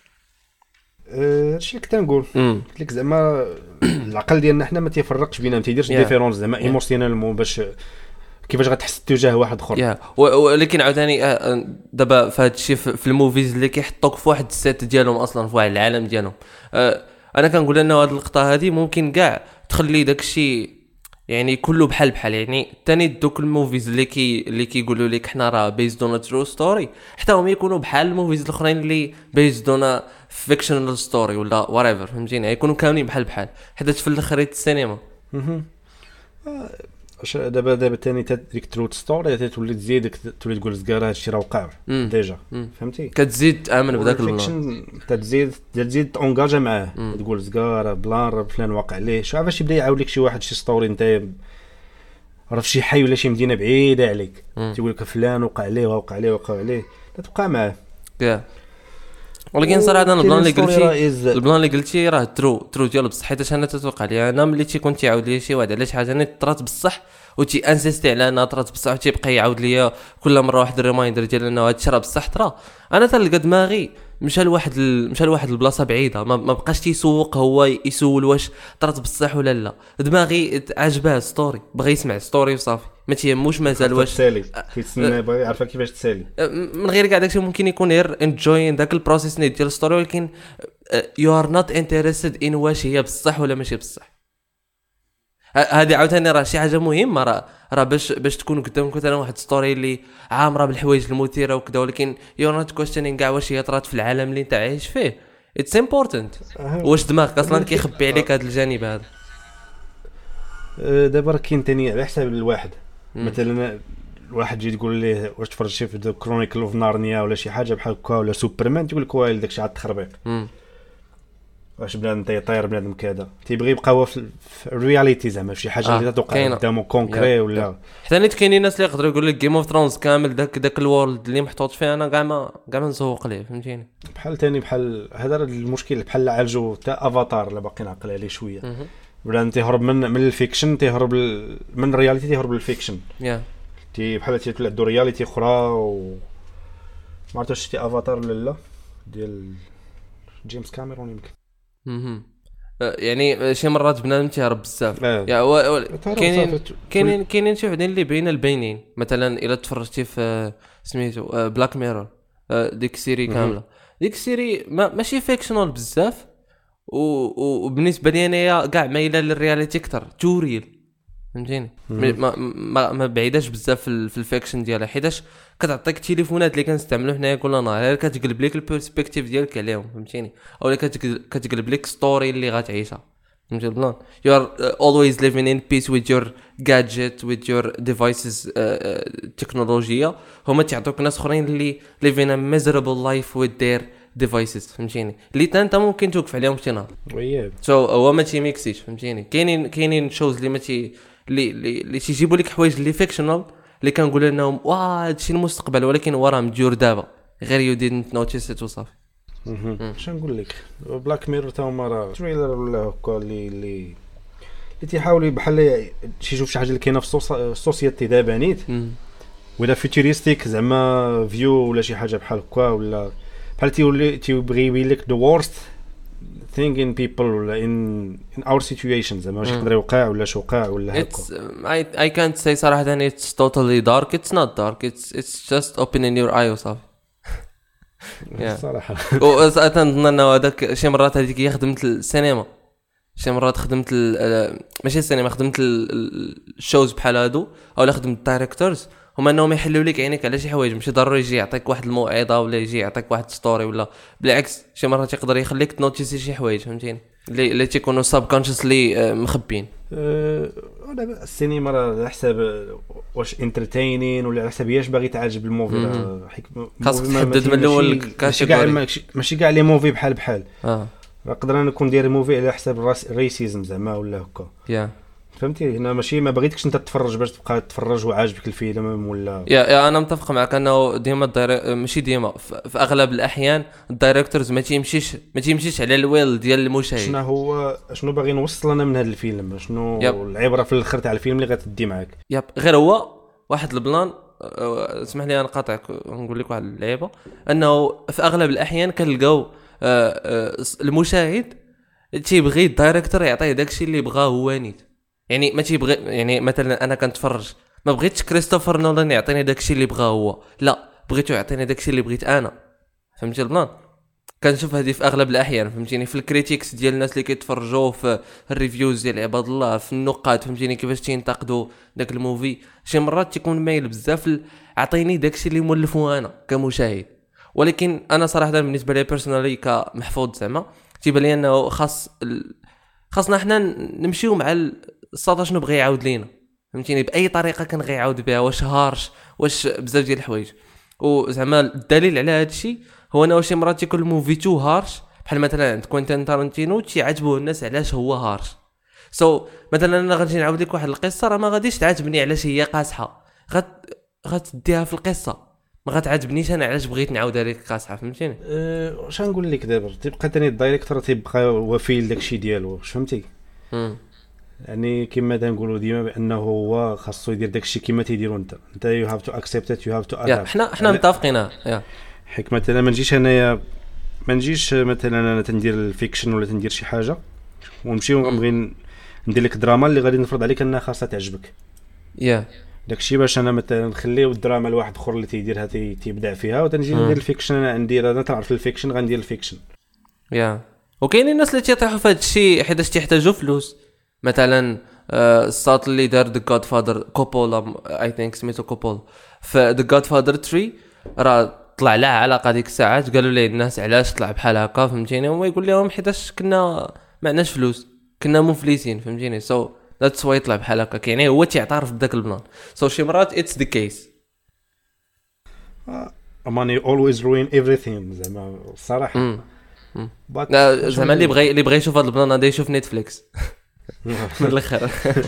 هادشي اللي كنت نقول. قلت لك زعما العقل ديالنا حنا ما تيفرقش بينا، ما تيديرش ديفيرونس زعما ايموسيونيل باش كيفاش غتحس تجاه واحد اخر. يا ولكن عاوتاني دابا في هذا الشيء في الموفيز اللي كيحطوك في واحد السيت ديالهم اصلا في واحد العالم ديالهم، انا كنقول انه هذه اللقطه هذه ممكن كاع تخلي داك الشيء يعني كله بحال بحال. يعني ثاني دوك الموفيز اللي كي اللي كيقولوا لك حنا راه بيزد اون ترو ستوري، حتى هم يكونوا بحال الموفيز الاخرين اللي بيزد اون فيكشنال ستوري ولا وات فهمتيني، يكونوا كاملين بحال بحال حيت في الاخر السينما واش دابا دابا ثاني ديك تروت ستوري تولي تزيدك تولي تقول زكار هادشي راه وقع ديجا فهمتي، كتزيد تامن بداك الفيكشن تزيد تزيد تونجاجا معاه تقول زكار بلان فلان واقع عليه. شوف باش يبدا يعاود لك شي واحد شي ستوري انت راه فشي حي ولا شي مدينه بعيده عليك تيقول لك فلان وقع عليه وقع عليه وقع عليه تبقى معاه. ولكن صراحه انا البلان اللي قلتي البلان اللي قلتي راه ترو ترو ديال بصح، حيت انا تتوقع لي انا ملي تيكون تيعاود لي شي واحد على شي حاجه انا طرات بصح وتي انسيستي على انها طرات بصح وتيبقى يعاود لي كل مره واحد الريمايندر ديال انه هادشي راه بصح طرا، انا تلقى دماغي مشى لواحد ال... مشى لواحد البلاصه بعيده ما, ما بقاش تيسوق هو يسول واش طرات بصح ولا لا. دماغي عجبها ستوري بغى يسمع ستوري وصافي ما تيهموش مازال واش تسالي كيتسنى بغى يعرف كيفاش تسالي من غير كاع داكشي. ممكن يكون غير انجوين داك البروسيس ديال الستوري ولكن يو ار نوت انتريستد ان واش هي بصح ولا ماشي بصح. هذه عاوتاني راه شي حاجه مهمه راه راه باش باش تكون قدامك مثلا واحد ستوري اللي عامره بالحوايج المثيره وكذا ولكن يو نوت كويستشنينغ كاع واش هي طرات في العالم اللي انت عايش فيه. اتس امبورتانت واش دماغك اصلا كيخبي عليك هذا الجانب هذا. دابا راه كاين ثاني على حساب الواحد مثلا الواحد يجي تقول ليه واش تفرج شي في كرونيكل اوف نارنيا ولا شي حاجه بحال هكا ولا سوبرمان تقول لك واه داكشي عاد تخربيق واش بنادم تيطير بنادم كذا تيبغي يبقى هو في الرياليتي زعما شي حاجه اللي تتوقع قدامه كونكري ولا حتى نيت كاينين الناس اللي يقدروا يقول لك جيم اوف ثرونز كامل داك داك الورلد اللي محطوط فيه انا كاع ما كاع ما نسوق ليه فهمتيني. بحال ثاني بحال هذا المشكل بحال عالجو تاع افاتار اللي باقي نعقل عليه شويه ولا انت تهرب من من الفيكشن تهرب من الرياليتي تهرب للفيكشن يا تي بحال تيطلع دو رياليتي اخرى و ما عرفتش شتي افاتار ولا لا ديال جيمس كاميرون يمكن اها يعني شي مرات بنادم تيهرب بزاف يا كاينين كاينين كاينين شي وحدين اللي بين البينين مثلا الا تفرجتي في سميتو بلاك ميرور ديك السيري كامله ديك السيري ماشي فيكشنال بزاف وبالنسبه لي انايا كاع مايله للرياليتي اكثر توريل فهمتيني ما ما, ما بعيداش بزاف في الفيكشن ديالها حيتاش كتعطيك التليفونات اللي كنستعملوه حنايا كل نهار كتقلب لك البيرسبكتيف ديالك عليهم فهمتيني اولا كتقلب لك ستوري اللي غتعيشها فهمتي البلان. you are uh, always living in peace with your gadget with your devices التكنولوجيا هما تعطوك ناس اخرين اللي living a miserable life with their devices فهمتيني اللي انت ممكن توقف عليهم شي نهار وياه سو هو ما تيميكسيش فهمتيني. كاينين كاينين شوز اللي ما تي اللي اللي تيجيبوا لك حوايج اللي فيكشنال اللي كنقول انهم واه هادشي المستقبل ولكن هو راه مديور دابا غير يو ديدنت نوتيس ات وصافي. اش نقول لك بلاك ميرور تا هما راه تريلر ولا هكا اللي اللي اللي تيحاولوا بحال تيشوف شي حاجه اللي كاينه في السوسيتي دابا نيت ولا فيوتوريستيك زعما فيو ولا شي حاجه بحال هكا ولا بحال تيولي تيبغي يبين لك the worst thing in people ولا in in our situation زعما واش يقدر يوقع ولا شو وقع ولا هكا. I I can't say صراحه ان it's totally dark it's not dark it's it's just opening your eye وصافي. صراحه وأظن انه هذاك شي مرات هذيك هي خدمت السينما شي مرات خدمت ماشي السينما خدمت الشوز بحال هادو اولا خدمت الدايريكتورز هما انهم يحلوا لك عينيك على شي حوايج ماشي ضروري يجي يعطيك واحد الموعظه ولا يجي يعطيك واحد ستوري ولا بالعكس شي مرات يقدر يخليك تنوتيسي شي حوايج فهمتيني اللي اللي تيكونوا ساب كونشسلي مخبين. أه السينما راه على حساب واش انترتينين ولا على حساب واش باغي تعجب الموفي خاصك تحدد من الاول كاتيجوري ماشي كاع لي موفي بحال بحال اه نقدر انا نكون داير موفي على حساب الريسيزم زعما ولا هكا يا فهمتي هنا ماشي ما بغيتكش انت تتفرج باش تبقى تتفرج وعاجبك الفيلم ولا يا يا انا متفق معك انه ديما الداير... ماشي ديما في في اغلب الاحيان الدايركتورز ما تيمشيش ما تيمشيش على الويل ديال المشاهد. شنو هو شنو باغي نوصل انا من هذا الفيلم شنو يب. العبره في الاخر تاع الفيلم اللي غتدي معاك. يب غير هو واحد البلان. اسمح لي انا قاطعك نقول لك واحد اللعيبه انه في اغلب الاحيان كنلقاو المشاهد تيبغي الدايركتور يعطيه داكشي اللي بغاه هو نيت. يعني ما تيبغي يعني مثلا انا كنتفرج ما بغيتش كريستوفر نولان يعطيني داكشي اللي بغاه هو لا بغيتو يعطيني داكشي اللي بغيت انا. فهمتي البلان كنشوف هذه في اغلب الاحيان فهمتيني في الكريتيكس ديال الناس اللي كيتفرجوا في الريفيوز ديال عباد الله في النقاد فهمتيني كيفاش تينتقدوا داك الموفي شي مرات تيكون مايل بزاف اعطيني داكشي اللي مولفو انا كمشاهد. ولكن انا صراحه بالنسبه لي بيرسونالي كمحفوظ زعما تيبان لي انه خاص ال... خاصنا حنا نمشيو مع الساطا شنو بغى يعاود لينا فهمتيني باي طريقه كان غيعاود بها واش هارش واش بزاف ديال الحوايج. وزعما الدليل على هذا الشيء هو انه شي مرات يكون الموفي تو هارش بحال مثلا عند كوينتين تارانتينو تيعجبوه الناس علاش هو هارش. سو so, مثلا انا غادي نعاود لك واحد القصه راه ما غاديش تعجبني علاش هي قاصحه غت غتديها في القصه ما غتعجبنيش انا علاش بغيت نعاودها لك قاصحه فهمتيني. أه واش نقول لك دابا تيبقى ثاني الدايريكتور تيبقى وفي لداكشي ديالو واش فهمتي. امم يعني كما تنقولوا ديما بانه هو خاصو يدير داكشي كما تيديروا انت انت يو هاف تو اكسبت ات يو هاف تو ادابت. حنا حنا متفقين يا حيت مثلا ما نجيش انايا ما نجيش مثلا انا تندير الفيكشن ولا تندير شي حاجه ونمشي ونبغي ندير لك دراما اللي غادي نفرض عليك انها خاصها تعجبك يا داكشي باش انا مثلا نخليو الدراما لواحد اخر اللي تيديرها تيبدع فيها وتنجي ندير الفيكشن انا ندير انا تعرف الفيكشن غندير الفيكشن يا وكاينين الناس اللي تيطيحوا في هذا الشيء حيت تيحتاجوا فلوس. مثلا الساط اللي دار ذا جاد فادر كوبولا اي ثينك سميتو كوبول في ذا جاد فادر ثلاثة راه طلع لها علاقه ديك الساعات قالوا ليه الناس علاش طلع بحال هكا فهمتيني هو يقول لهم حيتاش كنا معناش فلوس كنا مفلسين فهمتيني. سو ذاتس واي طلع بحال هكا يعني هو تيعترف بداك البلان. سو شي مرات اتس ذا كيس ماني اولويز روين ايفريثين زعما الصراحه زعما اللي بغى اللي بغى يشوف هذا البلان غادي يشوف نتفليكس من الاخر.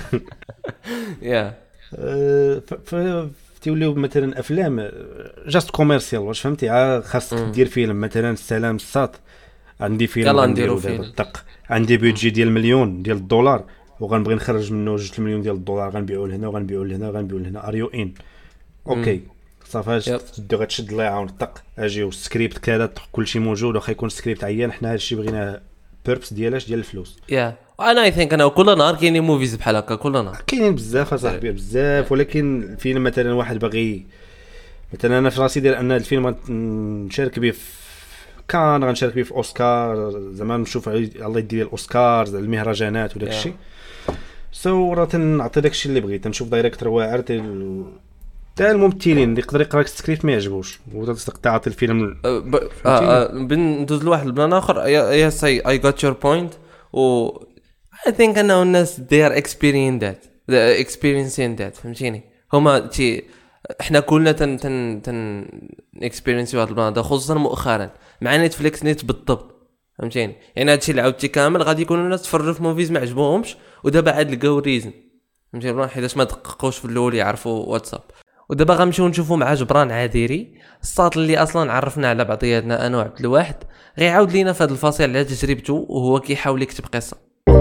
يا ف تيوليو مثلا افلام جاست كوميرسيال واش فهمتي خاصك دير فيلم مثلا السلام الساط عندي فيلم يلا نديرو فيلم طق عندي بيدجي ديال مليون ديال الدولار وغنبغي نخرج منه جوج مليون ديال الدولار غنبيعو لهنا وغنبيعو لهنا وغنبيعو لهنا ار يو ان اوكي صافي تدو غتشد الله يعاون طق اجيو السكريبت كذا كلشي موجود واخا يكون السكريبت عيان حنا هادشي بغينا بيربس ديالاش ديال الفلوس. يا انا اي ثينك انا كل نهار كاينين موفيز بحال هكا كل نهار كاينين بزاف اصاحبي بزاف ولكن الفيلم مثلا واحد باغي مثلا انا في راسي ديال ان الفيلم نشارك به كان غنشارك به في اوسكار زعما نشوف الله يدير الاوسكار المهرجانات وداك الشيء سو راه تنعطي داك الشيء اللي بغيت تنشوف دايريكتور واعر تاع الممثلين اللي يقدر يقرا السكريبت ما يعجبوش وتصدق تعطي الفيلم بندوز لواحد البلان اخر يا سي اي غوت يور بوينت و I think انه الناس they are experiencing that the experiencing that فهمتيني هما تي احنا كلنا تن تن تن experience هذا البلان خصوصا مؤخرا مع نتفليكس نيت بالضبط فهمتيني يعني هادشي اللي عاودتي كامل غادي يكونوا الناس تفرجوا في موفيز ما عجبوهمش ودابا عاد لقاو ريزن فهمتيني بلان حيتاش ما دققوش في الاول يعرفوا واتساب ودابا غنمشيو نشوفوا مع جبران عذيري الساط اللي اصلا عرفنا على بعضياتنا انا وعبد الواحد غيعاود لينا في هذا الفصل على تجربته وهو كيحاول يكتب قصه.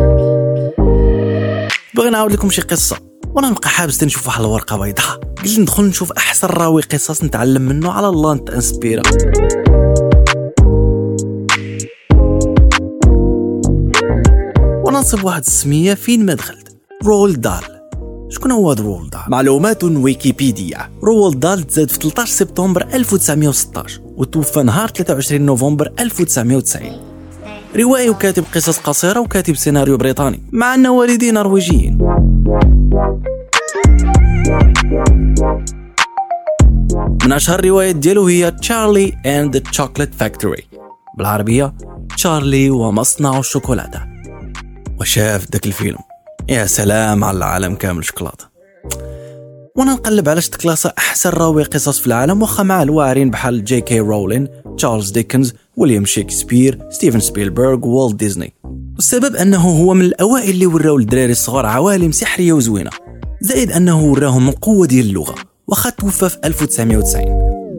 بغي نعاود لكم شي قصه وانا نبقى حابس نشوف واحد الورقه بيضاء قلت ندخل نشوف احسن راوي قصص نتعلم منه على الله نتانسبيرا. وانا نصب واحد السميه فين ما دخلت رول دال. شكون هو هذا رول دال؟ معلومات ويكيبيديا. رول دال تزاد في ثلاثة عشر سبتمبر ألف وتسعمائة وستة عشر وتوفى نهار ثلاثة وعشرين نوفمبر ألف وتسعمائة وتسعين. روائي وكاتب قصص قصيرة وكاتب سيناريو بريطاني مع أن والديه نرويجيين. من أشهر الروايات ديالو هي تشارلي and the Chocolate Factory بالعربية تشارلي ومصنع الشوكولاتة. وشاف ذاك الفيلم يا سلام على العالم كامل شوكولاتة. وانا نقلب على شتكلاسة احسن راوي قصص في العالم واخا مع الواعرين بحال جي كي رولين تشارلز ديكنز ويليام شكسبير ستيفن سبيلبرغ والت ديزني. والسبب أنه هو من الأوائل اللي وراو الدراري الصغار عوالم سحرية وزوينة، زائد أنه وراهم القوة ديال اللغة، وخا توفى في ألف وتسعمائة وتسعين.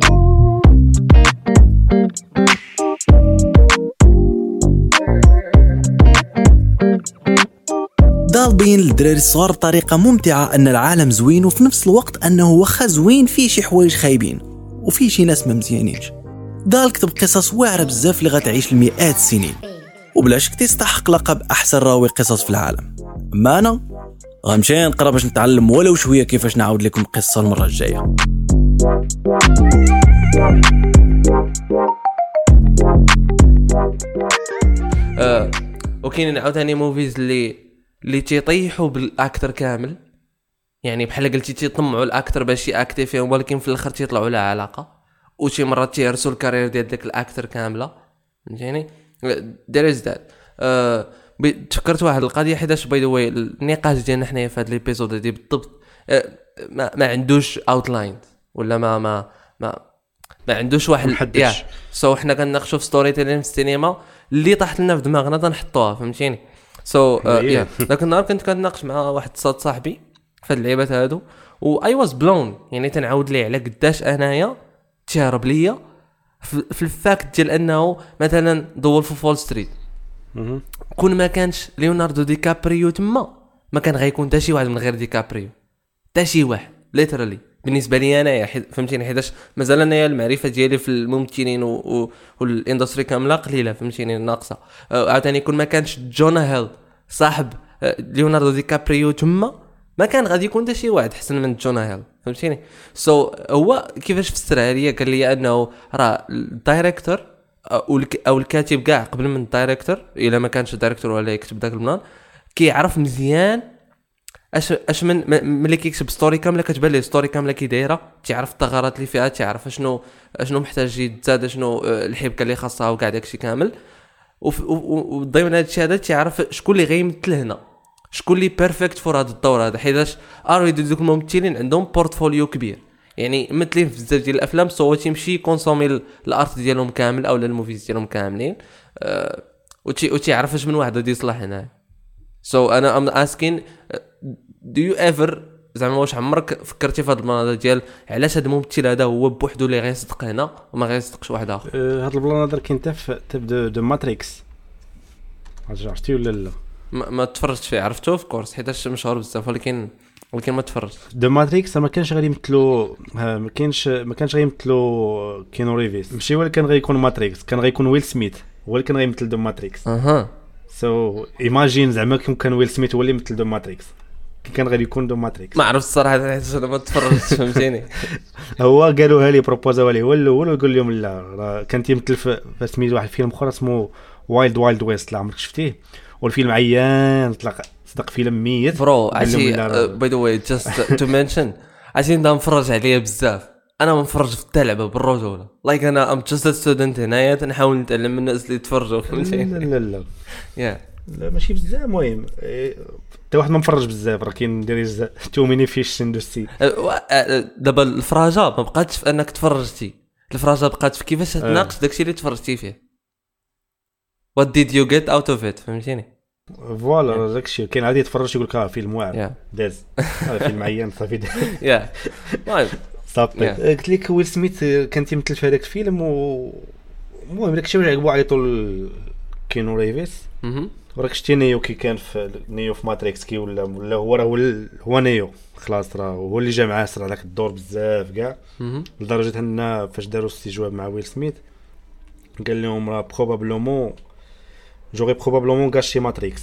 دال بين للدراري الصغار بطريقة ممتعة أن العالم زوين، وفي نفس الوقت أنه وخا زوين فيه شي حوايج خايبين وفيه شي ناس ما مزيانينش. دال كتب قصص واعرة بزاف اللي غتعيش لمئات السنين، وبلا شك تستحق لقب أحسن راوي قصص في العالم. أما أنا غنمشي نقرا باش نتعلم ولو شوية كيفاش نعاود لكم القصة المرة الجاية. أه وكاين عاوتاني موفيز اللي اللي تيطيحوا بالاكتر كامل، يعني بحال قلتي تيطمعوا الاكتر باش ياكتي فيهم، ولكن في الاخر تيطلعوا لها علاقه، وشي مرات تيهرسوا الكارير ديال داك الاكتر كامله. فهمتيني دير از ذات. أه تفكرت واحد القضيه حيتاش باي ذا واي النقاش ديالنا حنايا في هذا ليبيزود هذه بالضبط أه ما, ما عندوش اوتلاين ولا ما ما ما ما عندوش واحد يا سو حنا كنناقشوا في ستوري تيلين في السينما اللي طاحت لنا في دماغنا تنحطوها. فهمتيني سو يا ذاك النهار كنت كنناقش مع واحد صاد صاحبي في اللعيبات هادو، و اي واز بلون، يعني تنعاود ليه على قداش انايا تهرب ليا في الفاكت ديال انه مثلا ذا وولف اوف وول ستريت كون ما كانش ليوناردو دي كابريو تما ما كان غيكون حتى شي واحد من غير دي كابريو، حتى شي واحد ليترالي بالنسبه لي انايا. فهمتيني حيتاش مازال انايا المعرفه ديالي في الممثلين والاندستري كامله قليله، فهمتيني ناقصه. عاوتاني كون ما كانش جونا هيل صاحب ليوناردو دي كابريو تما ما كان غادي يكون حتى شي واحد احسن من جونا هيل. فهمتيني سو so, هو كيفاش فسرها ليا قال لي انه راه الدايريكتور او الكاتب كاع قبل من الدايريكتور الا ما كانش الدايريكتور ولا يكتب داك البلان كيعرف مزيان اش اش من ملي كيكتب ستوري كامله كتبان ليه ستوري كامله كي دايره، تعرف الثغرات اللي فيها، تعرف شنو شنو محتاج يتزاد، شنو الحبكه اللي خاصها وكاع داكشي كامل. وضمن هذا الشيء هذا تعرف شكون اللي غيمثل هنا، شكون اللي بيرفكت فور هذا الدور هذا، حيتاش اريد دوك الممثلين عندهم بورتفوليو كبير، يعني ممثلين في بزاف ديال الافلام سو تيمشي كونسومي الارت ديالهم كامل او الموفيز ديالهم كاملين أه وتي وتيعرف اش من واحد غادي يصلح هنا. سو so, انا ام اسكين دو يو ايفر زعما واش عمرك فكرتي في هذا البلان ديال علاش هذا الممثل هذا هو بوحدو اللي غيصدق هنا وما غيصدقش واحد اخر؟ أه هذا البلان هذا كاين حتى في تبدا دو ماتريكس، عرفتي ولا لا؟ ما, ما تفرجت فيه، عرفته اوف كورس حيتاش مشهور بزاف، ولكن ولكن ما تفرجت. دو ماتريكس ما كانش غادي يمثلوا ما كانش ما كانش غيمثلوا كينو ريفيس، ماشي هو اللي كان غيكون ماتريكس، كان غيكون ويل سميث هو اللي كان غيمثل دو ماتريكس. اها سو ايماجين زعما كان ويل سميث هو اللي يمثل دو ماتريكس، كان غادي يكون دو ماتريكس. ما عرفت الصراحه حيت انا ما تفرجتش فهمتيني. هو قالوها لي بروبوزاو لي هو الاول ويقول لهم لا راه كان تيمثل في سميت واحد فيلم اخر اسمه وايلد وايلد ويست، لا عمرك شفتيه؟ والفيلم عيان طلق صدق فيلم ميت برو. عشي باي ذا واي جاست تو منشن عشان دا نفرج عليه بزاف، انا منفرج في التلعبه بالرجوله لايك انا ام جاست ستودنت هنايا تنحاول نتعلم من الناس اللي يتفرجوا. فهمتي؟ لا لا لا يا لا ماشي بزاف، المهم حتى واحد ما مفرج بزاف، راه كاين دير تو ميني فيش اندستري. دابا الفراجه ما بقاتش في انك تفرجتي، الفراجه بقات في كيفاش تناقش داكشي اللي تفرجتي فيه. what did you get out of it؟ فهمتيني؟ فوالا داكشي كاين عادي يتفرج يقول لك اه فيلم واعر داز فيلم عيان صافي يا المهم صافي. قلت لك ويل سميث كان تيمثل في هذاك الفيلم، و المهم داكشي اللي عجبو عيطوا كينو ريفيس. وراك شتي نيو كي كان في نيو في ماتريكس كي ولا ولا هو راه هو نيو خلاص، راه هو اللي جا معاه صرا داك الدور بزاف كاع، لدرجه ان فاش داروا استجواب مع ويل سميث قال لهم راه بروبابلومون جوغي بروبابلومون غاشي ماتريكس،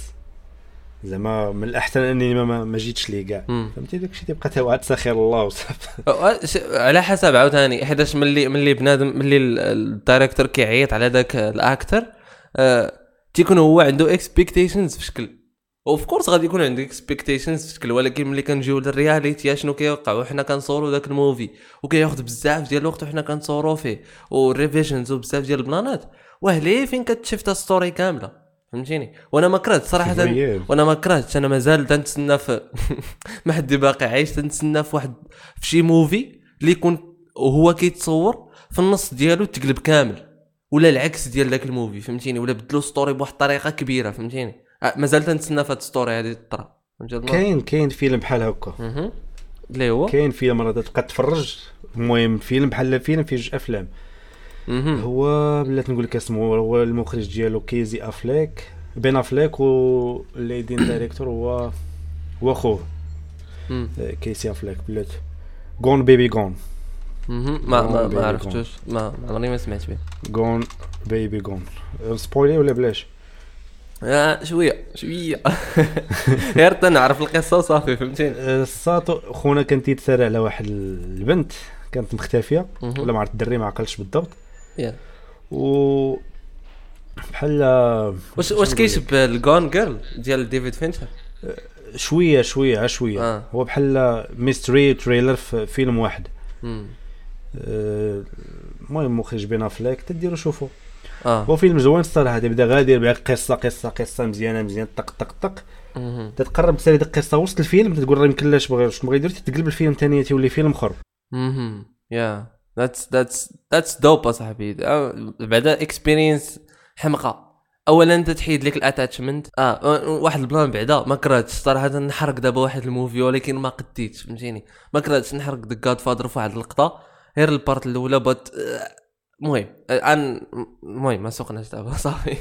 زعما من الاحسن اني ما, ما جيتش ليه كاع. فهمتي داكشي تيبقى تا واحد سخير الله وصافي. على حسب عاوتاني حيتاش ملي ملي بنادم ملي الدايريكتور كيعيط على داك الاكتر أه تيكون هو عنده اكسبكتيشنز في شكل، اوف كورس غادي يكون عندك اكسبكتيشنز في شكل، ولكن ملي كنجيو للرياليتي شنو كيوقع وحنا كنصوروا داك الموفي وكياخذ بزاف ديال الوقت وحنا كنصوروا فيه وريفيجنز وبزاف ديال البلانات، وهلي فين كتشفت ستوري كامله. فهمتيني؟ وانا ما كرهت صراحه، وانا ما كرهتش، انا مازال تنتسنى في ما حد باقي عايش تنتسنى في واحد في شي موفي اللي يكون وهو كيتصور في النص ديالو تقلب كامل، ولا العكس ديال داك الموفي. فهمتيني؟ ولا بدلوا ستوري بواحد الطريقه كبيره. فهمتيني؟ مازال تنتسنى في هاد ستوري هذه تطرا. كاين كاين فيلم بحال هكا اها اللي هو كاين فيلم راه تبقى تفرج. المهم فيلم بحال فيلم فيه جوج افلام. هو بلات نقول لك اسمه هو المخرج ديالو كيزي افليك بين افليك والليدين دايريكتور هو هو خوه كيسي افليك بلات غون بيبي غون. ما ما ما عرفتوش ما عمرني ما سمعت به. غون بيبي غون سبويلي ولا بلاش؟ اه شويه شويه غير تنعرف القصه صافي فهمتيني. الساطو خونا كان تيتسرع على واحد البنت كانت مختفيه ولا ما عرفت الدري ما عقلتش بالضبط. يا و بحال واش واش كيشبه الجون جيرل ديال ديفيد فينشر شويه شويه ع شويه آه. هو بحال ميستري تريلر في فيلم واحد. امم المهم مخرج بين افلاك تديروا شوفوا. اه هو فيلم زوين الصراحه. تبدا غادي بها قصه قصه قصه مزيانه مزيان طق طق طق تتقرب تسالي ديك القصه وسط الفيلم تقول راه يمكن لاش بغا واش بغا يدير تقلب الفيلم ثاني تولي فيلم اخر. اها يا ذاتس ذاتس ذاتس دوب اصاحبي. بعدا اكسبيرينس حمقه. اولا انت تحيد لك الاتاتشمنت. اه واحد البلان بعدا ما كرهتش صراحه نحرق دابا واحد الموفي ولكن ما قديتش فهمتيني. ما كرهتش نحرق ذا جاد فادر في واحد اللقطه غير البارت الاولى بات. المهم ان المهم ما سوقناش دابا صافي.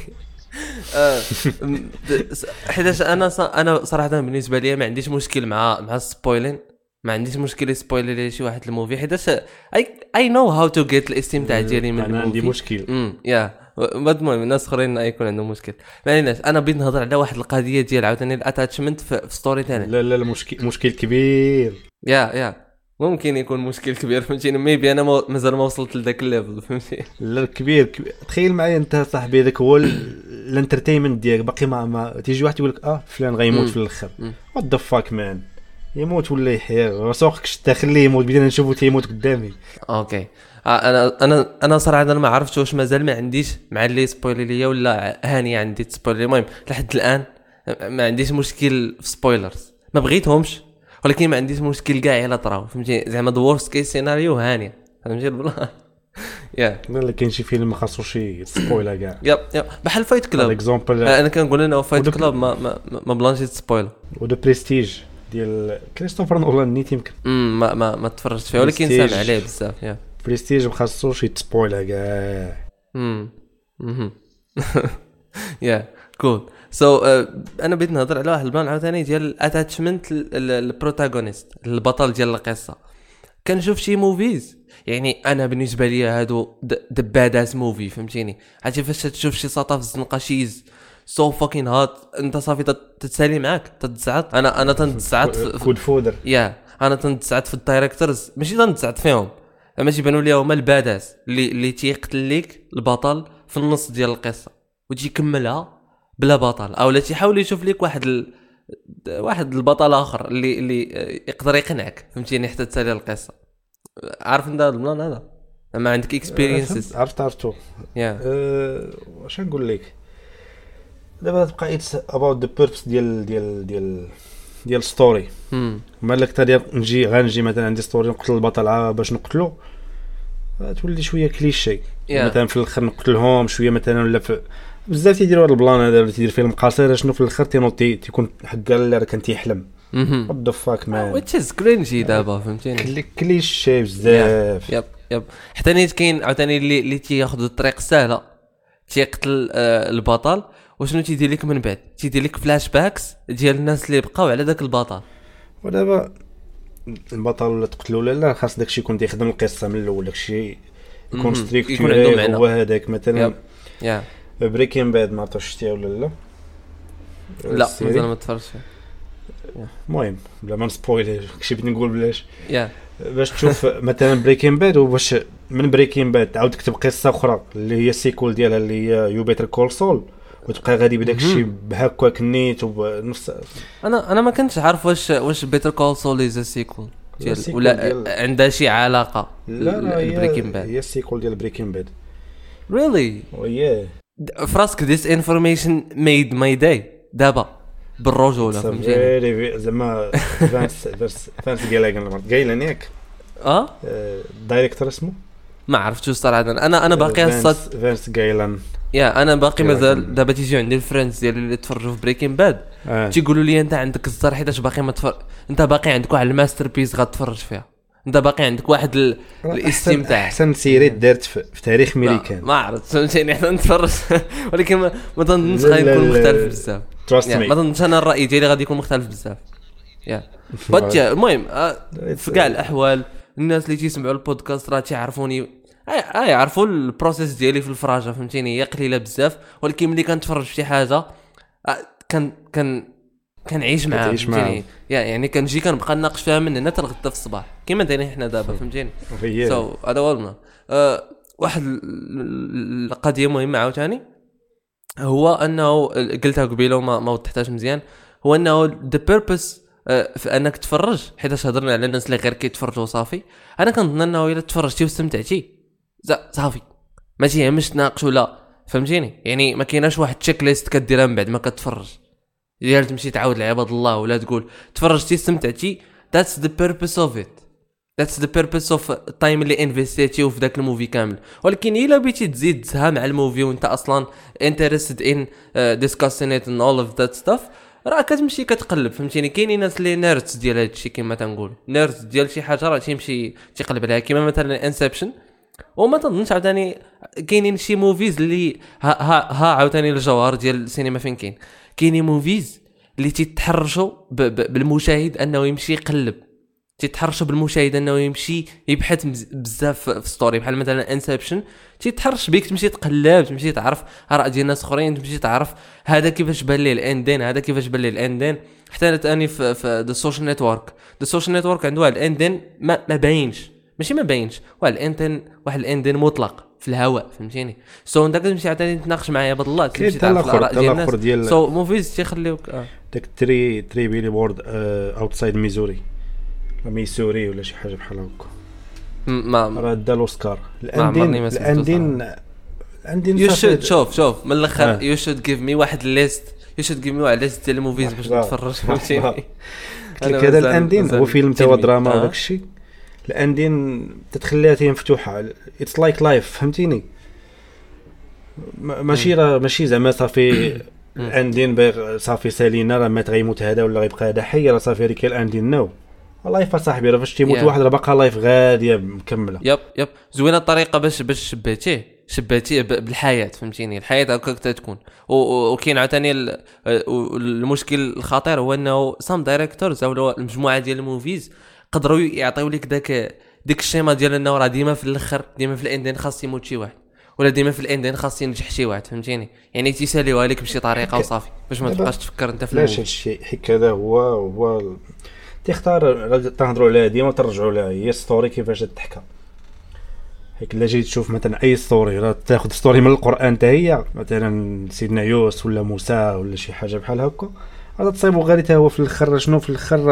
حيت انا انا صراحه بالنسبه لي ما عنديش مشكل مع مع السبويلين. ما عنديش مشكل يسبويلر لي شي واحد الموفي حيت اي اي نو هاو تو جيت الاستمتاع ديالي من الموفي. انا عندي مشكل امم يا المهم الناس اخرين يكون عندهم مشكل. ما عليناش انا بغيت نهضر على واحد القضيه ديال عاوتاني الاتاتشمنت في ستوري ثاني. لا لا المشكل مشكل كبير. يا يا ممكن يكون مشكل كبير فهمتيني. ميبي انا مازال ما وصلت لذاك الليفل فهمتي. لا كبير, كبير. تخيل معايا انت صاحبي ذاك هو الانترتينمنت ديالك باقي ما, ما تيجي واحد يقول لك اه فلان غيموت في الاخر. وات ذا فاك مان يموت ولا يحيا سوقكش تخليه يموت بدينا نشوفو تيموت قدامي. اوكي انا انا انا صراحه انا ما عرفتش واش مازال ما عنديش مع اللي سبويلر ليا ولا هاني عندي سبويلر. المهم لحد الان ما عنديش مشكل في سبويلرز ما بغيتهمش ولكن ما عنديش مشكل كاع الا طراو فهمتي. زعما ذا ورست كيس سيناريو هانيه فهمتي بلا يا لا كاين شي فيلم ما خاصوش سبويلر كاع. يب يب بحال فايت كلاب اكزامبل. انا كنقول انا فايت كلاب ما ما ما بلانشي سبويلر. ودو بريستيج ديال كريستوفر نولان نيت يمكن امم ما ما ما تفرجت فيه ولكن سامع عليه بزاف. يا بريستيج ما خاصوش يتسبويلر كاع. امم اها يا كول سو so, uh, انا بغيت نهضر على واحد البلان عاوتاني ديال الاتاتشمنت البروتاغونيست البطل ديال القصه. كنشوف شي موفيز يعني انا بالنسبه لي هادو ذا باداس موفي فهمتيني. عرفتي فاش تشوف شي ساطا في الزنقه شيز سو فاكين هات انت صافي تتسالي معاك تتزعط. انا انا تنتزعط فود فودر. يا انا تنتزعط في الدايركتورز ماشي تنتزعط فيهم اما تيبانوا لي هما الباداس اللي اللي تيقتل ليك البطل في النص ديال القصه وتجي يكملها بلا بطل او لا تيحاول يشوف لك واحد ال... واحد البطل اخر اللي اللي يقدر يقنعك فهمتيني حتى تسالي القصه. عارف انت البلان هذا ما عندك اكسبيرينسز. عرفت عرفتو يا واش نقول لك دابا تبقى اتس اباوت ذا بيربس ديال ديال ديال ديال ستوري. مالك تاع نجي غنجي مثلا عندي ستوري نقتل البطل باش نقتلو تولي شويه كليشي. yeah. مثلا في الاخر نقتلهم شويه مثلا ولا في بزاف تيديروا هذا البلان هذا اللي تيدير فيلم قصير شنو في الاخر تينوطي تيكون حق اللي راه كان تيحلم. وات ذا فاك مان ويتش از كرينجي دابا فهمتيني كليشي بزاف. يب يب حتى نيت كاين عاوتاني اللي اللي تياخذ الطريق السهله تيقتل آه البطل وشنو تيدير لك من بعد تيدير لك فلاش باكس ديال الناس اللي بقاو على داك البطل. ودابا البطل ولا تقتلو ولا لا خاص داكشي يكون تيخدم القصه من الاول داكشي يكون ستريكتوري هو هذاك مثلا. يا بريكين باد ما عرفتش شتيها ولا لا لا مازال ما تفرجتش. المهم بلا ما نسبويلر كشي بغيت نقول بلاش يا باش تشوف مثلا بريكين باد وباش من بريكين باد تعاود تكتب قصه اخرى اللي هي السيكول ديالها اللي هي يو بيتر كول سول وتبقى غادي بداك الشيء بهكاك نيت وبنفس. انا انا ما كنتش عارف واش واش بيتر كول سول از سيكول ديال ولا عندها شي علاقه. لا لا بريكين باد هي السيكول ديال بريكين باد. ريلي وياه فراسك ذيس انفورميشن ميد ماي داي دابا بالرجوله فهمتيني زعما فانس فانس فانس ديال قايلان ياك اه دايريكتور اسمه ما عرفتش صراحه. انا انا باقي الصاد فانس قايلان يا انا باقي مازال دابا تيجي عندي الفريندز ديالي اللي تفرجوا في بريكين باد آه. تيقولوا لي انت عندك الزر حيتاش باقي ما تفرج، انت باقي عندك واحد الماستر بيس غتفرج فيها، انت باقي عندك واحد ال... الاستمتاع احسن سيري دارت في, في تاريخ ميريكان. ما عرفت فهمتيني حنا نتفرج ولكن ما ما ظنيتش غادي يكون مختلف بزاف. ما ظنيتش انا الراي ديالي غادي يكون مختلف بزاف. يا باتيا المهم في كاع الاحوال الناس اللي تيسمعوا البودكاست راه تيعرفوني اه يعرفوا البروسيس ديالي في الفراجه فهمتيني، هي قليله بزاف ولكن ملي كنتفرج في شي حاجه كان كان كنعيش معاها فهمتيني، يعني كنجي كنبقى نناقش فيها من هنا حتى الغدا في الصباح كيما دايرين حنا دابا فهمتيني. سو هذا هو أه واحد القضيه مهمه عاوتاني هو انه قلتها قبيله وما ما وضحتهاش مزيان، هو انه ذا بيربس في انك تفرج حيت هضرنا على الناس اللي غير كيتفرجوا صافي. انا كنظن انه الا تفرجتي واستمتعتي صافي ما تيهمش تناقش ولا فهمتيني، يعني ما كايناش واحد تشيك ليست كديرها من بعد ما كتفرج ديال تمشي تعاود لعباد الله ولا تقول تفرجتي استمتعتي. that's the purpose of it, that's the purpose of time اللي انفستيتي في داك الموفي كامل. ولكن الا بغيتي تزيد تزها مع الموفي وانت اصلا interested in uh, discussing it and all of that stuff راه كتمشي كتقلب فهمتيني. كاينين ناس اللي نيردز ديال هذا الشيء كما تنقول نيردز ديال شي حاجه راه تيمشي تيقلب عليها كما مثلا انسبشن. وما تظنش عاوتاني كاينين شي موفيز اللي ها ها, ها عاوتاني الجوهر ديال السينما فين كاين كاينين موفيز اللي تيتحرشوا بالمشاهد انه يمشي يقلب، تيتحرشوا بالمشاهد انه يمشي يبحث بزاف في ستوري بحال مثلا انسبشن تيتحرش بيك تمشي تقلب تمشي تعرف اراء ديال الناس اخرين تمشي تعرف هذا كيفاش بان ليه الاندين هذا كيفاش بان ليه الاندين. حتى ثاني في في ذا سوشيال نيتورك ذا سوشيال نيتورك عنده واحد الاندين ما, ما باينش ماشي ما باينش واحد الاندين واحد الاندين مطلق في الهواء فهمتيني. سو انت كتمشي عاوتاني تناقش معايا بهاد الله تمشي تعرف الاراء ديال الناس. سو موفيز تيخليوك آه. داك تري تري بيلي بورد اوتسايد ميزوري ميسوري ولا شي حاجه بحال هكا ما راه دا الاوسكار الاندين الاندين الاندين يو شود شوف شوف من الاخر يو شود جيف مي واحد ليست يو شود جيف مي واحد ليست ديال الموفيز باش نتفرج فهمتيني. هذا الاندين هو فيلم توا دراما وداك الشيء الاندين تتخليها تي مفتوحه اتس لايك لايف فهمتيني. ماشي راه ماشي زعما صافي الاندين باغ صافي سالينا راه مات غيموت هذا ولا غيبقى هذا حي راه صافي ريك الاندين نو والله يا صاحبي راه فاش تيموت yeah. واحد راه باقا لايف غاديه مكمله. يب يب زوينه الطريقه باش باش شبهتيه شبهتيه بالحياه فهمتيني. الحياه هكاك تكون وكاين عاوتاني المشكل الخطير هو انه سام دايريكتورز او المجموعه ديال الموفيز قدروا يعطيو لك داك ديك الشيمه ديال انه راه ديما في الاخر ديما في الاندين خاص يموت شي واحد ولا ديما في الاندين خاص ينجح شي واحد فهمتيني. يعني تيساليوها لك بشي طريقه وصافي باش ما تبقاش تفكر انت في لاش الشيء حيت هذا هو هو تختار تهضروا عليها ديما ترجعوا لها هي ستوري كيفاش تحكى. هيك الا جيت تشوف مثلا اي ستوري راه تاخذ ستوري من القران حتى هي مثلا سيدنا يوسف ولا موسى ولا شي حاجه بحال هكا راه تصيبوا غير حتى هو في الاخر شنو في الاخر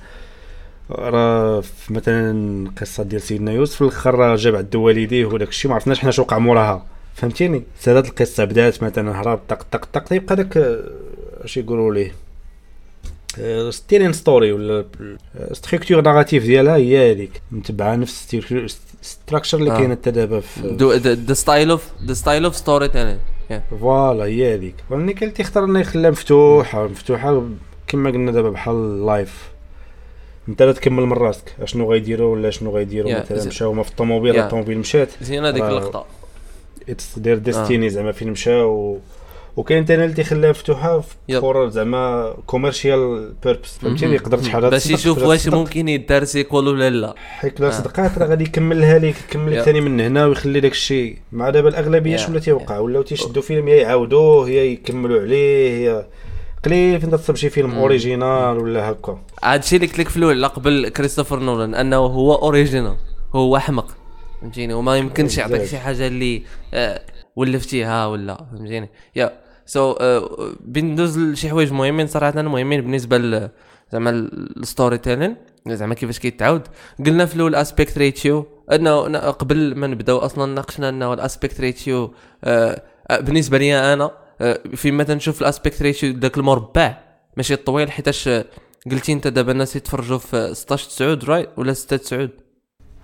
راه مثلا القصه ديال سيدنا يوسف في الاخر جاب عند والديه وداك الشيء ما عرفناش حنا شنو وقع موراها فهمتيني. سالات القصه بدات مثلا هرب طق طق طق يبقى داك اش يقولوا ليه ستيرين ستوري ولا ستركتور ناراتيف ديالها هي هذيك متبعه نفس ستراكشر اللي كاينه حتى دابا في ذا ستايل اوف ذا ستايل اوف ستوري تاني فوالا هي هذيك. ولكن كان تيختار انه يخليها مفتوحه مفتوحه كما قلنا دابا بحال لايف انت لا تكمل من راسك اشنو غيديروا ولا شنو غيديروا yeah. مثلا مشاو ما في الطوموبيل yeah. الطوموبيل مشات زين هذيك اللقطه اتس دير ديستيني زعما فين مشاو وكاين ثاني اللي تيخليها مفتوحه فور زعما كوميرشيال بيربس فهمتيني يقدر شحال باش يشوف واش ممكن يدار سيكول ولا لا حيت لا صدقات راه غادي يكملها لك يكمل لك ثاني من هنا ويخلي داك الشيء مع دابا الاغلبيه شنو تيوقع ولاو تيشدوا فيلم يا يعاودوه يا يكملوا عليه يا قليل فين تصب شي فيلم اوريجينال ولا هكا. هادشي اللي قلت لك في الاول قبل كريستوفر نولان انه هو اوريجينال هو حمق فهمتيني وما يمكنش يعطيك شي حاجه اللي آه ولفتيها ولا فهمتيني. يا سو so, uh, بندوز لشي حوايج مهمين صراحه مهمين بالنسبه زعما الستوري تيلين زعما كيفاش كيتعاود. قلنا في الاول اسبيكت ريتيو انه قبل ما نبداو اصلا ناقشنا انه الاسبيكت ريتيو uh, بالنسبه لي انا uh, فيما تنشوف الاسبيكت ريتيو داك المربع ماشي الطويل حيتاش قلتي انت دابا الناس يتفرجوا في ستة عشر تسعود رايت ولا ستة تسعود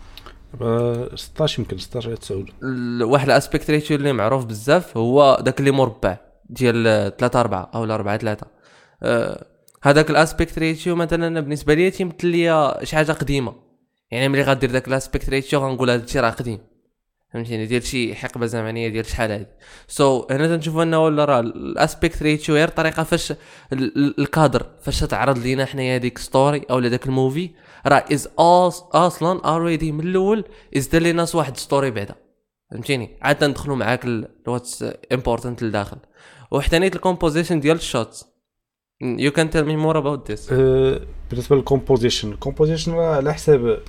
ستطاش يمكن ستطاش على تسعة. واحد الاسبيكت ريشيو اللي معروف بزاف هو داك اللي مربع ديال ثلاثة أربعة او أربعة ثلاثة. أه هذاك الاسبيكت ريشيو مثلا بالنسبه لي تيمثل لي شي حاجه قديمه، يعني ملي غادير داك الاسبيكت ريشيو غنقول هذا الشيء راه قديم، فهمتيني، ديال شي حقبه زمنيه ديال شحال هادي. سو so, هنا تنشوفوا انه ولا راه الاسبيكت ريشيو غير الطريقه فاش الكادر فاش تعرض لينا حنايا هذيك ستوري او داك الموفي راه از اصلا اوريدي من الاول از دار لينا واحد ستوري بعدا، فهمتيني، عاد ندخلوا معاك الواتس امبورطنت لداخل. وحتى نيت الكومبوزيشن ديال الشوتس you can tell me more about this. أه بالنسبه للكومبوزيشن الكومبوزيشن على حساب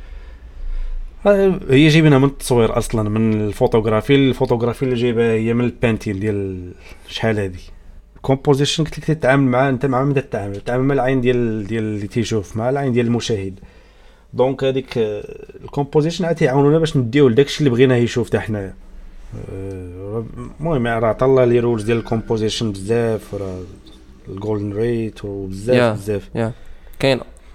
هي جايبينها من التصوير اصلا، من الفوتوغرافي الفوتوغرافي اللي جايبها هي من البانتين ديال شحال هذه. الكومبوزيشن قلت لك تتعامل مع انت مع من تتعامل تتعامل مع العين ديال ديال اللي تيشوف مع العين ديال المشاهد. دونك هذيك الكومبوزيشن عاد يعاونونا باش نديو لداكشي اللي بغينا يشوف حتى حنايا. المهم راه عطا الله لي رولز ديال الكومبوزيشن بزاف، راه الجولدن ريت وبزاف بزاف يا كاين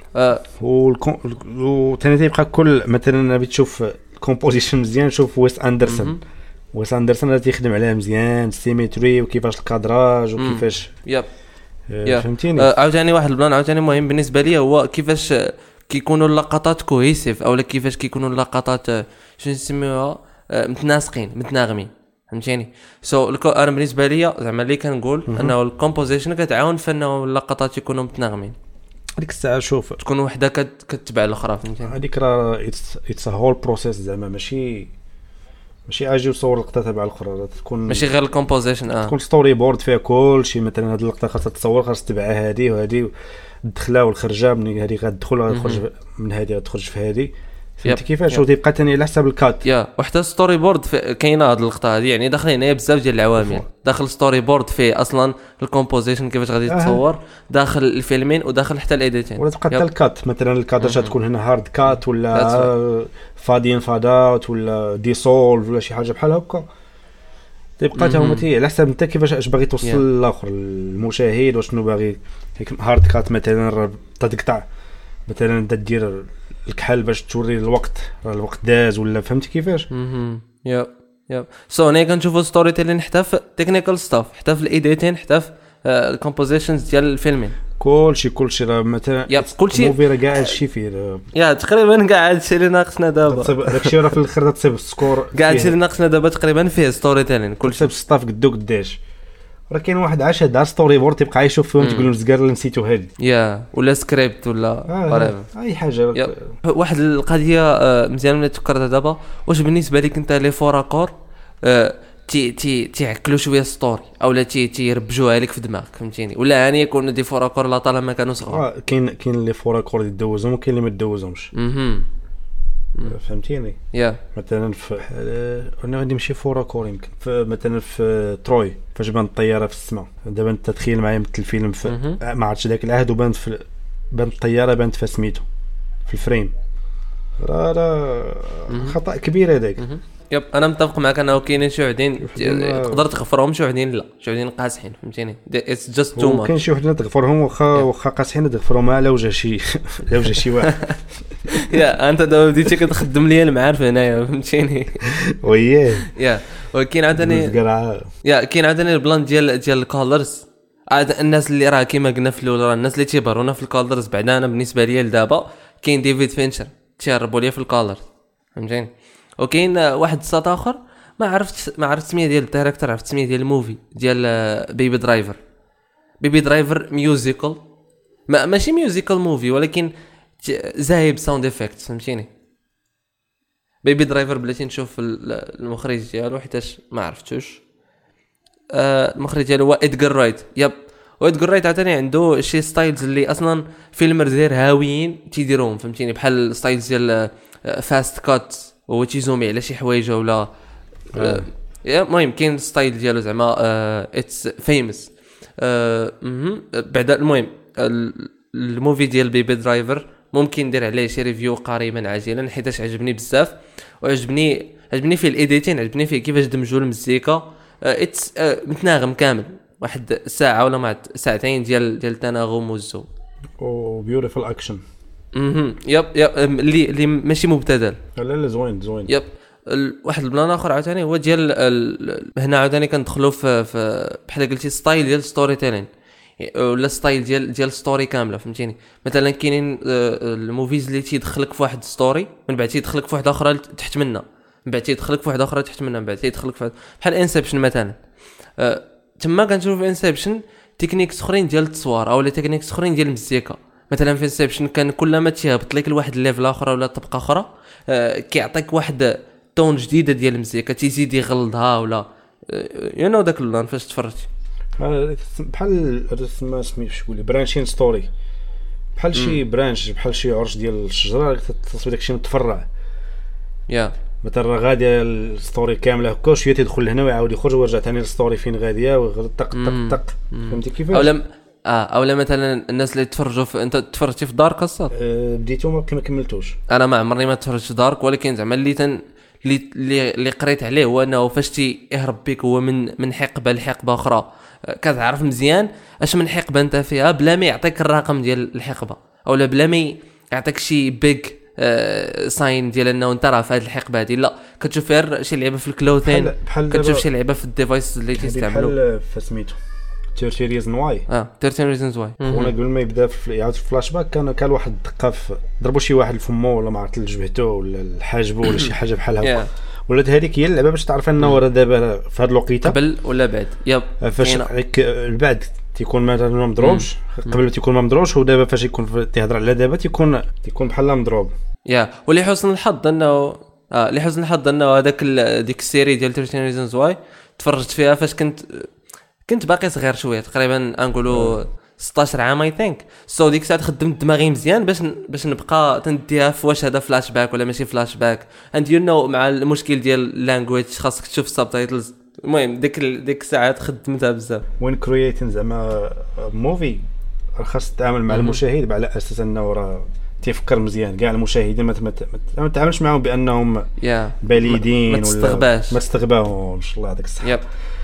وثاني تيبقى كل مثلا بغيت تشوف الكومبوزيشن مزيان شوف ويس اندرسون. ويس اندرسون راه تيخدم عليها مزيان السيمتري وكيفاش الكادراج وكيفاش ياب آه فهمتيني. آه عاوتاني واحد البلان عاوتاني مهم بالنسبه لي هو كيفاش كيكونوا اللقطات كوهيسيف اولا كيفاش كيكونوا اللقطات شنو نسميوها متناسقين متناغمين، فهمتيني. سو so, انا بالنسبه لي زعما اللي كنقول انه الكومبوزيشن كتعاون في انه اللقطات يكونوا متناغمين. هذيك الساعه شوف تكون وحده كتتبع الاخرى، فهمتيني. هذيك راه اتس ا هول بروسيس زعما ماشي ماشي اجي وصور لقطه تبع الاخرى، تكون ماشي غير الكومبوزيشن اه تكون ستوري بورد فيها كل شيء. مثلا هذه اللقطه خاصها تصور خاص تبعها هذه وهذه الدخله والخرجه، من هذه غتدخل غتخرج من هذه غتخرج في هذه، فهمتي كيفاش. وتبقى ثاني على حساب الكات يا وحتى ستوري بورد كاينه هذه اللقطه هذه، يعني داخلين هنا بزاف ديال العوامل. داخل ستوري بورد فيه اصلا الكومبوزيشن كيفاش غادي تصور آه. داخل الفيلمين وداخل حتى الايديتين، ولا تبقى حتى الكات. مثلا الكادر تكون هنا هارد كات ولا فادين فادات ولا ديسولف ولا شي حاجه بحال هكا، تبقى حتى هما على حساب انت كيفاش اش باغي توصل للاخر المشاهد وشنو باغي. هارد كات مثلا تقطع مثلا تدير الكحل باش توري الوقت الوقت داز ولا فهمتي كيفاش. اها يا يا سو هنا كنشوفوا ستوري تيلين حتى في تكنيكال ستاف حتى في الايديتين حتى في الكومبوزيشنز ديال الفيلمين كلشي كلشي راه مثلا كلشي موفي راه كاع هادشي فيه يا تقريبا كاع هادشي اللي ناقصنا دابا. داكشي راه في الاخر تصيب السكور كاع هادشي اللي ناقصنا دابا تقريبا فيه ستوري تيلين كلشي بستاف قدو قداش. راه كاين واحد عاش هاد ستوري بورد تيبقى يشوف فيهم تقول له زكار اللي نسيتو هادي يا ولا سكريبت ولا آه اي حاجه. واحد القضيه مزيان ملي تفكرتها دابا، واش بالنسبه لك انت لي فوراكور تي تي تيعكلوا شويه ستوري اولا تي تيربجوها لك في دماغك، فهمتيني، ولا يعني يكونوا دي فوراكور لا طالما كانوا صغار. آه كاين كاين لي فوراكور اللي دوزهم وكاين اللي ما دوزهمش، اها فهمتيني. يا مثلا في انا غادي نمشي فوراكور يمكن مثلا في تروي فاش بان الطياره في السماء. دابا انت تخيل معايا مثل الفيلم في ما عرفتش داك العهد وبان في بان الطياره بانت في سميتو في الفريم، راه راه خطا كبير هذاك. يب انا متفق معك انه كاينين شي وحدين تقدر تغفرهم شي وحدين لا شي وحدين قاصحين، فهمتيني. اتس جاست تو ماتش. كاين شي وحدين تغفرهم واخا واخا قاصحين تغفرهم على وجه شي على وجه شي واحد. يا انت دابا بديتي كتخدم ليا المعارف هنايا، فهمتيني. وياه يا ولكن عاوتاني يا كاين عاوتاني البلان ديال ديال الكولرز. عاد الناس اللي راه كيما قلنا في الاول راه الناس اللي تيبرونا في الكولرز بعدا انا بالنسبه ليا لدابا كاين ديفيد فينشر تيهربوا ليا في الكولرز، فهمتيني. وكاين واحد الساط اخر ما عرفت ما عرفت السميه ديال الدايركتور، عرفت السميه ديال الموفي ديال بيبي درايفر. بيبي درايفر ميوزيكال ما ماشي ميوزيكال موفي ولكن زايب ساوند افكت، فهمتيني. بيبي درايفر بلاتي نشوف المخرج ديالو حيتاش ما عرفتوش. آه المخرج ديالو هو ادغار رايت. يب وادغار رايت عاوتاني عنده شي ستايلز اللي اصلا فيلمر دير هاويين تيديروهم، فهمتيني، بحال ستايلز ديال فاست كات هو تيزومي على شي حوايج ولا آه. المهم كاين ستايل ديالو زعما اتس فيموس. بعدا المهم الموفي ديال بيبي درايفر ممكن ندير عليه شي ريفيو قريبا عاجلا حيتاش عجبني بزاف وعجبني عجبني فيه الايديتين، عجبني فيه كيفاش دمجوا المزيكا. اتس متناغم كامل واحد ساعه ولا مع ساعتين ديال ديال التناغم والزو او بيوتيفول اكشن. اها يب يب اللي اللي ماشي مبتذل. لا لا زوين زوين. يب واحد البلان اخر عاوتاني هو ديال هنا عاوتاني كندخلوا في, في بحال قلتي ستايل ديال ستوري تيلين ولا ستايل ديال ديال ستوري كامله فهمتيني. مثلا كاينين الموفيز اللي تيدخلك في واحد ستوري من بعد تيدخلك في واحده اخرى تحت منها من بعد تيدخلك في واحده اخرى تحت منها من بعد تيدخلك في بحال انسبشن مثلا. أه تما كنشوف في انسبشن تكنيكس اخرين ديال التصوير او تكنيكس اخرين ديال المزيكا. مثلا في انسبشن كان كلما تيهبط لك لواحد الليفل اخر ولا طبقه اخرى أه كيعطيك واحد تون جديده ديال المزيكا تيزيد يغلظها ولا يو نو داك اللون فاش تفرجتي بحال ما سميتش شكون برانشين ستوري بحال شي برانش بحال شي عرش ديال الشجره تصوير داكشي متفرع يا مثلا غاديه الستوري كامله هكا شويه تيدخل لهنا ويعاود يخرج ويرجع ثاني للستوري فين غاديه ويغلط طق طق طق فهمتي كيفاش. اولا اه اولا مثلا الناس اللي تفرجوا في انت تفرجتي في دارك الصاد أه بديتو ما كملتوش. انا ما عمرني ما تفرجت في دارك ولكن زعما اللي تن اللي اللي قريت عليه هو انه فاش تيهرب بك هو من من حقبه لحقبه اخرى كتعرف مزيان اش من حقبه انت فيها بلا ما يعطيك الرقم ديال الحقبه اولا بلا ما يعطيك شي بيج آه ساين ديال انه انت راه في هذه الحقبه هذه. لا كتشوف فيها شي لعبه في الكلوثين كتشوف شي لعبه في الديفايس اللي تيستعملوا بحال فسميتو ثلاثة ريزن واي اه ثلاثة ريزنز واي. وانا قبل ما يبدا في يعاود في الفلاش باك كان كان واحد الدقه ضربوا شي واحد لفمو ولا ما عرفت لجبهته ولا الحاجبو ولا شي حاجه بحال هكا ولات هذيك هي اللعبه باش تعرف انه راه دابا في هذه الوقيته قبل ولا بعد. يب فاش البعد تيكون مثلا ما مضروبش قبل تيكون ما مضروبش ودابا فاش يكون تيهضر على دابا تيكون تيكون بحال مضروب. يا ولي حسن الحظ انه اه لحسن الحظ انه هذاك ديك السيري ديال ثلاثة ريزنز واي تفرجت فيها فاش كنت كنت باقي صغير شويه تقريبا نقولوا ستاشر عام اي ثينك. سو ديك الساعه خدمت دماغي مزيان باش باش نبقى تنديها في واش هذا فلاش باك ولا ماشي فلاش باك اند يو نو مع المشكل ديال اللانجويج خاصك تشوف السبتايتلز. المهم ديك ديك الساعات خدمتها بزاف. وين كرييتين زعما موفي خاص تتعامل مع المشاهد على اساس انه راه تيفكر مزيان كاع المشاهدين ما ما تعاملش معهم بانهم بليدين ولا ما تستغباش ما تستغباهمش الله يعطيك الصحه.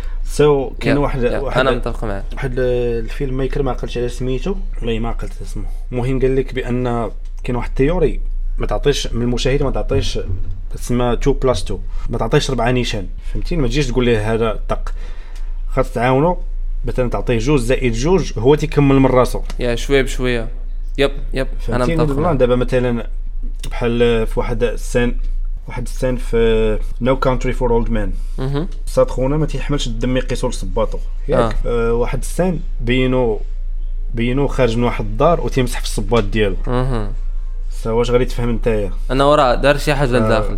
سو so, كاين واحد واحد انا متفق معك واحد الفيلم ميكر ما قلتش على سميتو والله ما قلت اسمه. المهم قال لك بان كاين واحد التيوري ما تعطيش من المشاهد ما تعطيش تسمى اثنين بلس اثنين ما تعطيش ربعه نيشان فهمتيني. ما تجيش تقول ليه هذا طق خاص تعاونوا مثلا تعطيه جوج زائد جوج هو تيكمل من راسو يا شويه بشويه. يب يب انا متفق. دابا مثلا بحال في واحد السين واحد السين في نو كانتري فور اولد مان صاد خونا ما تيحملش الدم يقيسوا لصباطو ياك. آه. أه واحد السين بينو بينو خارج من واحد الدار وتيمسح في الصباط ديالو. اها سوا واش غادي تفهم نتايا انا وراه دار شي حاجه لداخل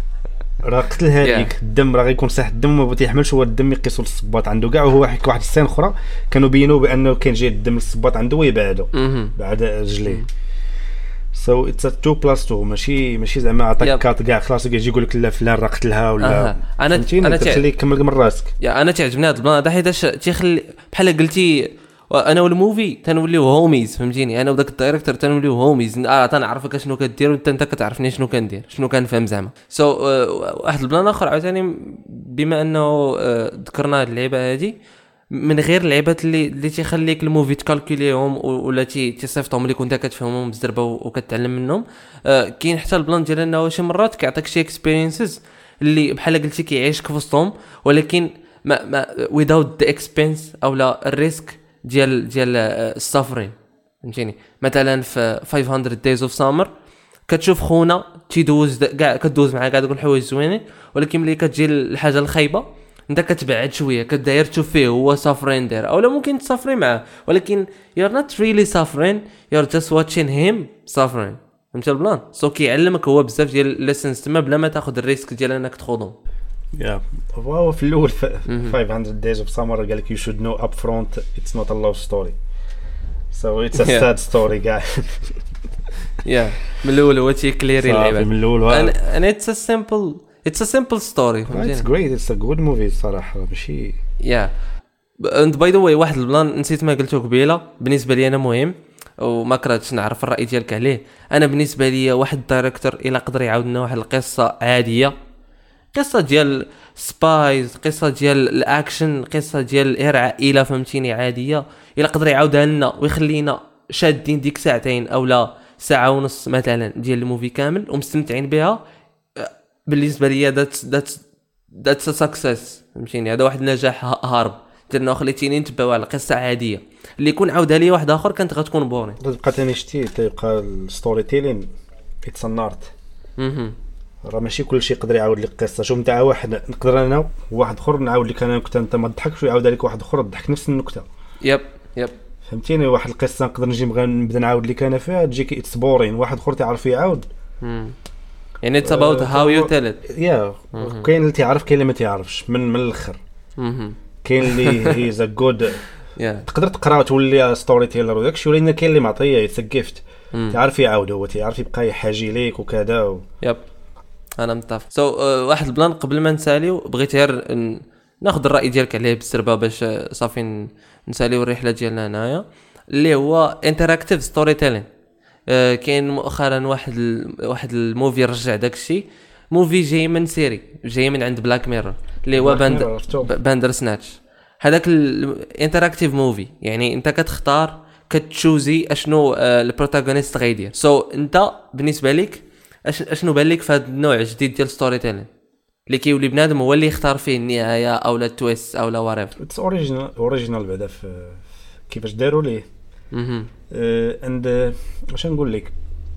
راه قتل هذيك yeah. الدم راه غيكون صح الدم ما تيحملش هو الدم يقيسوا للصباط عنده كاع. وهو واحد واحد السين اخرى كانوا بينوا بانه كان جاي الدم للصباط عنده ويبعدوا بعد رجليه. سو اتس اثنين بلس اثنين ماشي ماشي زعما عطاك كات كاع خلاص يجي يقول لك لا فلان راه قتلها ولا. انا انا تخليك كمل من راسك. يا انا تعجبني هذا البلان هذا حيتاش تيخلي بحال قلتي انا والموفي تنوليو هوميز فهمتيني. انا وداك الدايريكتور تنوليو هوميز اه تنعرفك شنو كدير وانت انت كتعرفني شنو كندير شنو كنفهم زعما. سو so, uh, واحد البلان اخر عاوتاني بما انه uh, ذكرنا هذه اللعبه هذه من غير اللعبات اللي اللي تيخليك الموفي تكالكوليهم ولا تي تصيفطهم لك وانت كتفهمهم بزربه وكتعلم منهم. آه كاين حتى البلان ديال انه شي مرات كيعطيك شي اكسبيرينسز اللي بحال قلتي كيعيشك في وسطهم ولكن ما ما without the expense او لا الريسك ديال ديال السافرين فهمتيني. مثلا في خمسمية days of summer كتشوف خونا تيدوز كاع كدوز معاه كاع دوك الحوايج زوينين ولكن ملي كتجي الحاجه الخايبه انت كتبعد شويه كداير تشوف فيه هو سافرين داير او لا ممكن تسافري معاه ولكن you're not really suffering you're just watching him suffering فهمت البلان. سو كيعلمك هو بزاف ديال ليسنس تما بلا ما تاخذ الريسك ديال انك تخوضهم. يا هو في الاول خمسمية days of summer قال لك you should know up front it's not a love story so it's a sad story guy. يا من الاول هو تيكليري اللعبه من الاول and it's a simple it's a simple story. It's great. It's a good movie صراحة ماشي. Yeah. And by the way واحد البلان نسيت ما قلته قبيله بالنسبة لي أنا مهم وما كرهتش نعرف الرأي ديالك عليه. أنا بالنسبة لي واحد الدايركتور إلا قدر يعاود لنا واحد القصة عادية قصة ديال سبايز قصة ديال الأكشن قصة ديال إير عائلة فهمتيني عادية إلا قدر يعاودها لنا ويخلينا شادين ديك ساعتين أو لا ساعه ونص مثلا ديال الموفي كامل ومستمتعين بها، بالنسبه لي ذات ذات ذات سكسس فهمتيني. هذا واحد النجاح هارب درنا خليتيني نتبعوا على قصه عاديه اللي يكون عاودها لي واحد اخر كانت غتكون بورين. تبقى ثاني شتي تبقى الستوري تيلين اتس ان ارت. اها راه ماشي كلشي يقدر يعاود لك قصه. شوف نتاع واحد نقدر انا وواحد اخر نعاود لك انا نكته انت ما تضحكش ويعاود لك واحد اخر تضحك نفس النكته. يب يب فهمتيني. واحد القصه نقدر نجي نبدا نعاود لك انا فيها تجيك اتس بورين، واحد اخر تعرف يعاود. امم يعني اتس اباوت هاو يو تيل ات. يا كاين اللي تعرف كاين اللي ما تعرفش من من الاخر. اها كاين اللي هي ذا جود يا تقدر تقرا وتولي ستوري تيلر وداكشي، ولكن كاين اللي معطيه يتسقفت تعرف يعاود هو تعرف يبقى يحاجي ليك وكذا و... يب انا متفق. سو so, uh, واحد البلان قبل ما نساليو بغيت غير ن... ناخذ الراي ديالك عليه بالسربه باش صافي نساليو الرحله ديالنا هنايا اللي هو انتراكتيف ستوري تيلين. كاين مؤخرا واحد ال... واحد الموفي رجع داكشي، موفي جاي من سيري جاي من عند بلاك ميرور اللي هو باند باندر سناتش. هذاك الانتراكتيف موفي يعني انت كتختار كتشوزي اشنو البروتاغونيست غيدير. سو so, انت بالنسبه لك اشنو بان لك في هذا النوع جديد ديال ستوري تيلين اللي كيولي بنادم هو اللي يختار فيه النهايه او لا تويست او لا واريف؟ اتس اوريجينال اوريجينال بعدا في كيفاش داروا ليه. اها اند واش نقول لك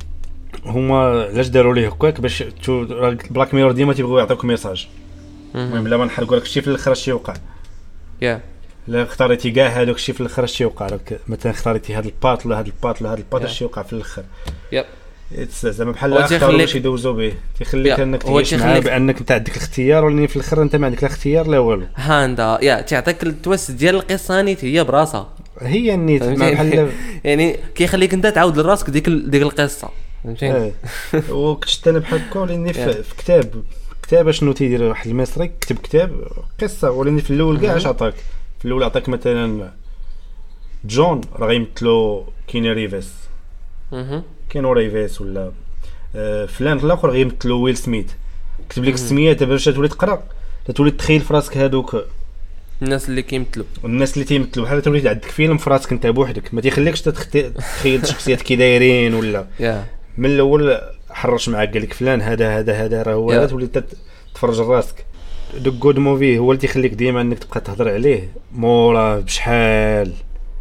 هما علاش داروا ليه هكاك باش بلاك ميرور ديما تيبغيو يعطيوك ميساج. المهم بلا ما نحرقوا لك الشيء في الاخر اش يوقع. يا yeah. لا اختاريتي كاع هذاك الشيء في الاخر اش يوقع لك. مثلا اختاريتي هذا الباط ولا هذا الباط ولا هذا الباط اش يوقع في الاخر. يب زعما بحال اختاروا باش يدوزوا به تيخليك انك تعيش معاه بانك انت عندك الاختيار، ولكن في الاخر انت ما عندك لا اختيار لا والو. هاندا يا تعطيك التويست ديال القصه نيت هي براسها هي النيت بحال يعني كيخليك انت تعاود لراسك ديك ديك القصه فهمتيني. وكنت انا بحال هكا ولكن في كتاب كتاب شنو تيدير واحد المصري كتب كتاب قصه، ولكن في الاول كاع اش عطاك في الاول عطاك مثلا جون راه غيمثلو كيني ريفيس اها كينو ريفيس ولا آه فلان الاخر غيمثلو ويل سميث. كتب لك السميه دابا باش تولي تقرا تولي تخيل في راسك هذوك الناس اللي كيمثلوا الناس اللي تيمثلوا بحال تولي عندك فيلم في راسك انت بوحدك ما تيخليكش تتخيل شخصيات كي دايرين ولا yeah. من الاول حرش معاك قال لك فلان هذا هذا هذا راه هو هذا yeah. تولي تتفرج راسك. دوك جود موفي هو اللي تيخليك ديما انك تبقى تهضر عليه مورا بشحال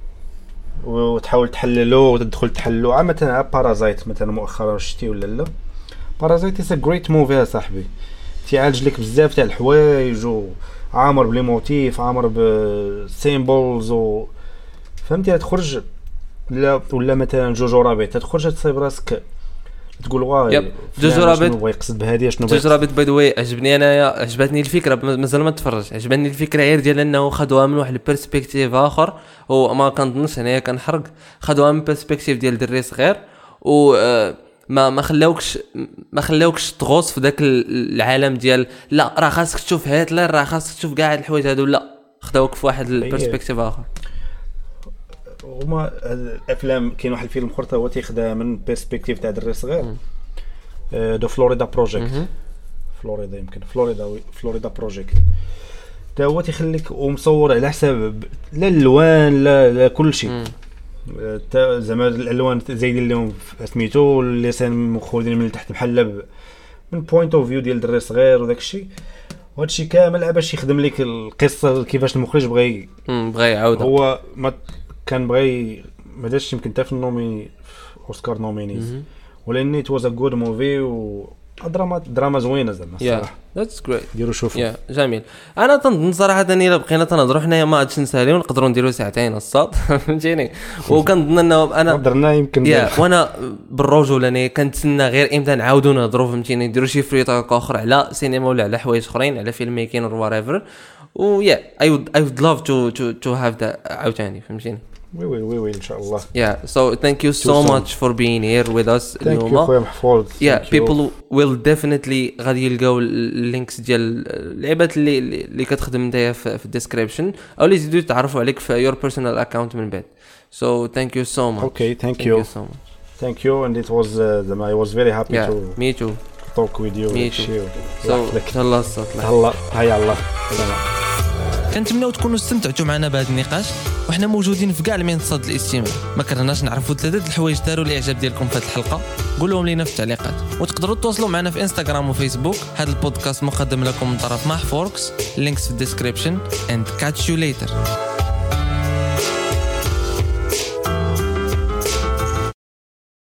وتحاول تحللو وتدخل تحللو. عا مثلا بارازايت مثلا مؤخرا شتي ولا لا بارازايت سا جريت موفي صاحبي تيعالج لك بزاف تاع الحوايج وعامر بلي موتيف عامر بسيمبلز و فهمتي تخرج لا ولا مثلا جوجو رابيت تخرج تصيب راسك تقول واي جوجو رابيت بغا يقصد بهذه شنو جوجو رابيت باي ذا واي عجبني انايا عجبتني الفكره مازال ما تفرج عجبني الفكره غير ديال انه خدوها من واحد البيرسبكتيف اخر وما كنظنش انايا كنحرق خدوها من بيرسبكتيف ديال دري صغير و ما ما خلاوكش ما خلاوكش تغوص في ذاك العالم ديال لا راه خاصك تشوف هتلر راه خاصك تشوف كاع هاد الحوايج هادو لا خداوك في واحد البيرسبكتيف اخر. وما الافلام كاين واحد الفيلم اخر هو تيخدها من بيرسبكتيف تاع دري صغير دو فلوريدا بروجيكت فلوريدا يمكن فلوريدا فلوريدا بروجيكت تا هو تيخليك ومصور على حساب لا الالوان لا لا كل شيء تا زعما الالوان زايدين لهم سميتو اللسان مخودين من تحت بحال من بوينت اوف فيو ديال دري صغير وداك الشيء وهذا الشيء كامل باش يخدم لك القصه كيفاش المخرج بغى بغى يعاودها. هو ما كان بغى ما داش يمكن حتى في النومي اوسكار نومينيز ولكن it was a good movie و دراما دراما زوينه زعما الصراحه. ذاتس جريت ديروا شوفوا يا جميل. انا تنظن صراحه اني الا بقينا تنهضروا حنايا ما غاديش نساليو نقدروا نديروا ساعتين الصاد فهمتيني. وكنظن انه انا هضرنا يمكن يا وانا بالرجوله انا كنتسنى غير امتى نعاودوا نهضروا فهمتيني نديروا شي فري توك اخر على سينما ولا على حوايج اخرين على فيلم ميكين اور وات ويا اي وود اي وود لاف تو تو تو هاف ذات عاوتاني فهمتيني. وي وي وي وي ان شاء الله. Yeah, so thank you so much for being here with us. Thank you خويا محفوظ. Yeah, people will definitely غادي يلقاو اللينكس ديال اللعبات اللي اللي كتخدم نتايا في الديسكريبشن او اللي يزيدوا يتعرفوا عليك في your personal account من بعد. So thank you so much. Okay, thank, thank you. you so much. Thank you and it was uh, I was very happy yeah, to me too. talk with you. Me too. So الله الصوت الله هيا الله. كنتمنوا تكونوا استمتعتوا معنا بهذا النقاش وحنا موجودين في كاع المنصات الاستماع. ما كرهناش نعرفوا ثلاثه الحوايج داروا الاعجاب ديالكم في هذه الحلقه، قولوهم لينا في التعليقات. وتقدروا تواصلوا معنا في انستغرام وفيسبوك. هذا البودكاست مقدم لكم من طرف محفوركس، لينكس في الديسكريبشن. and catch you later.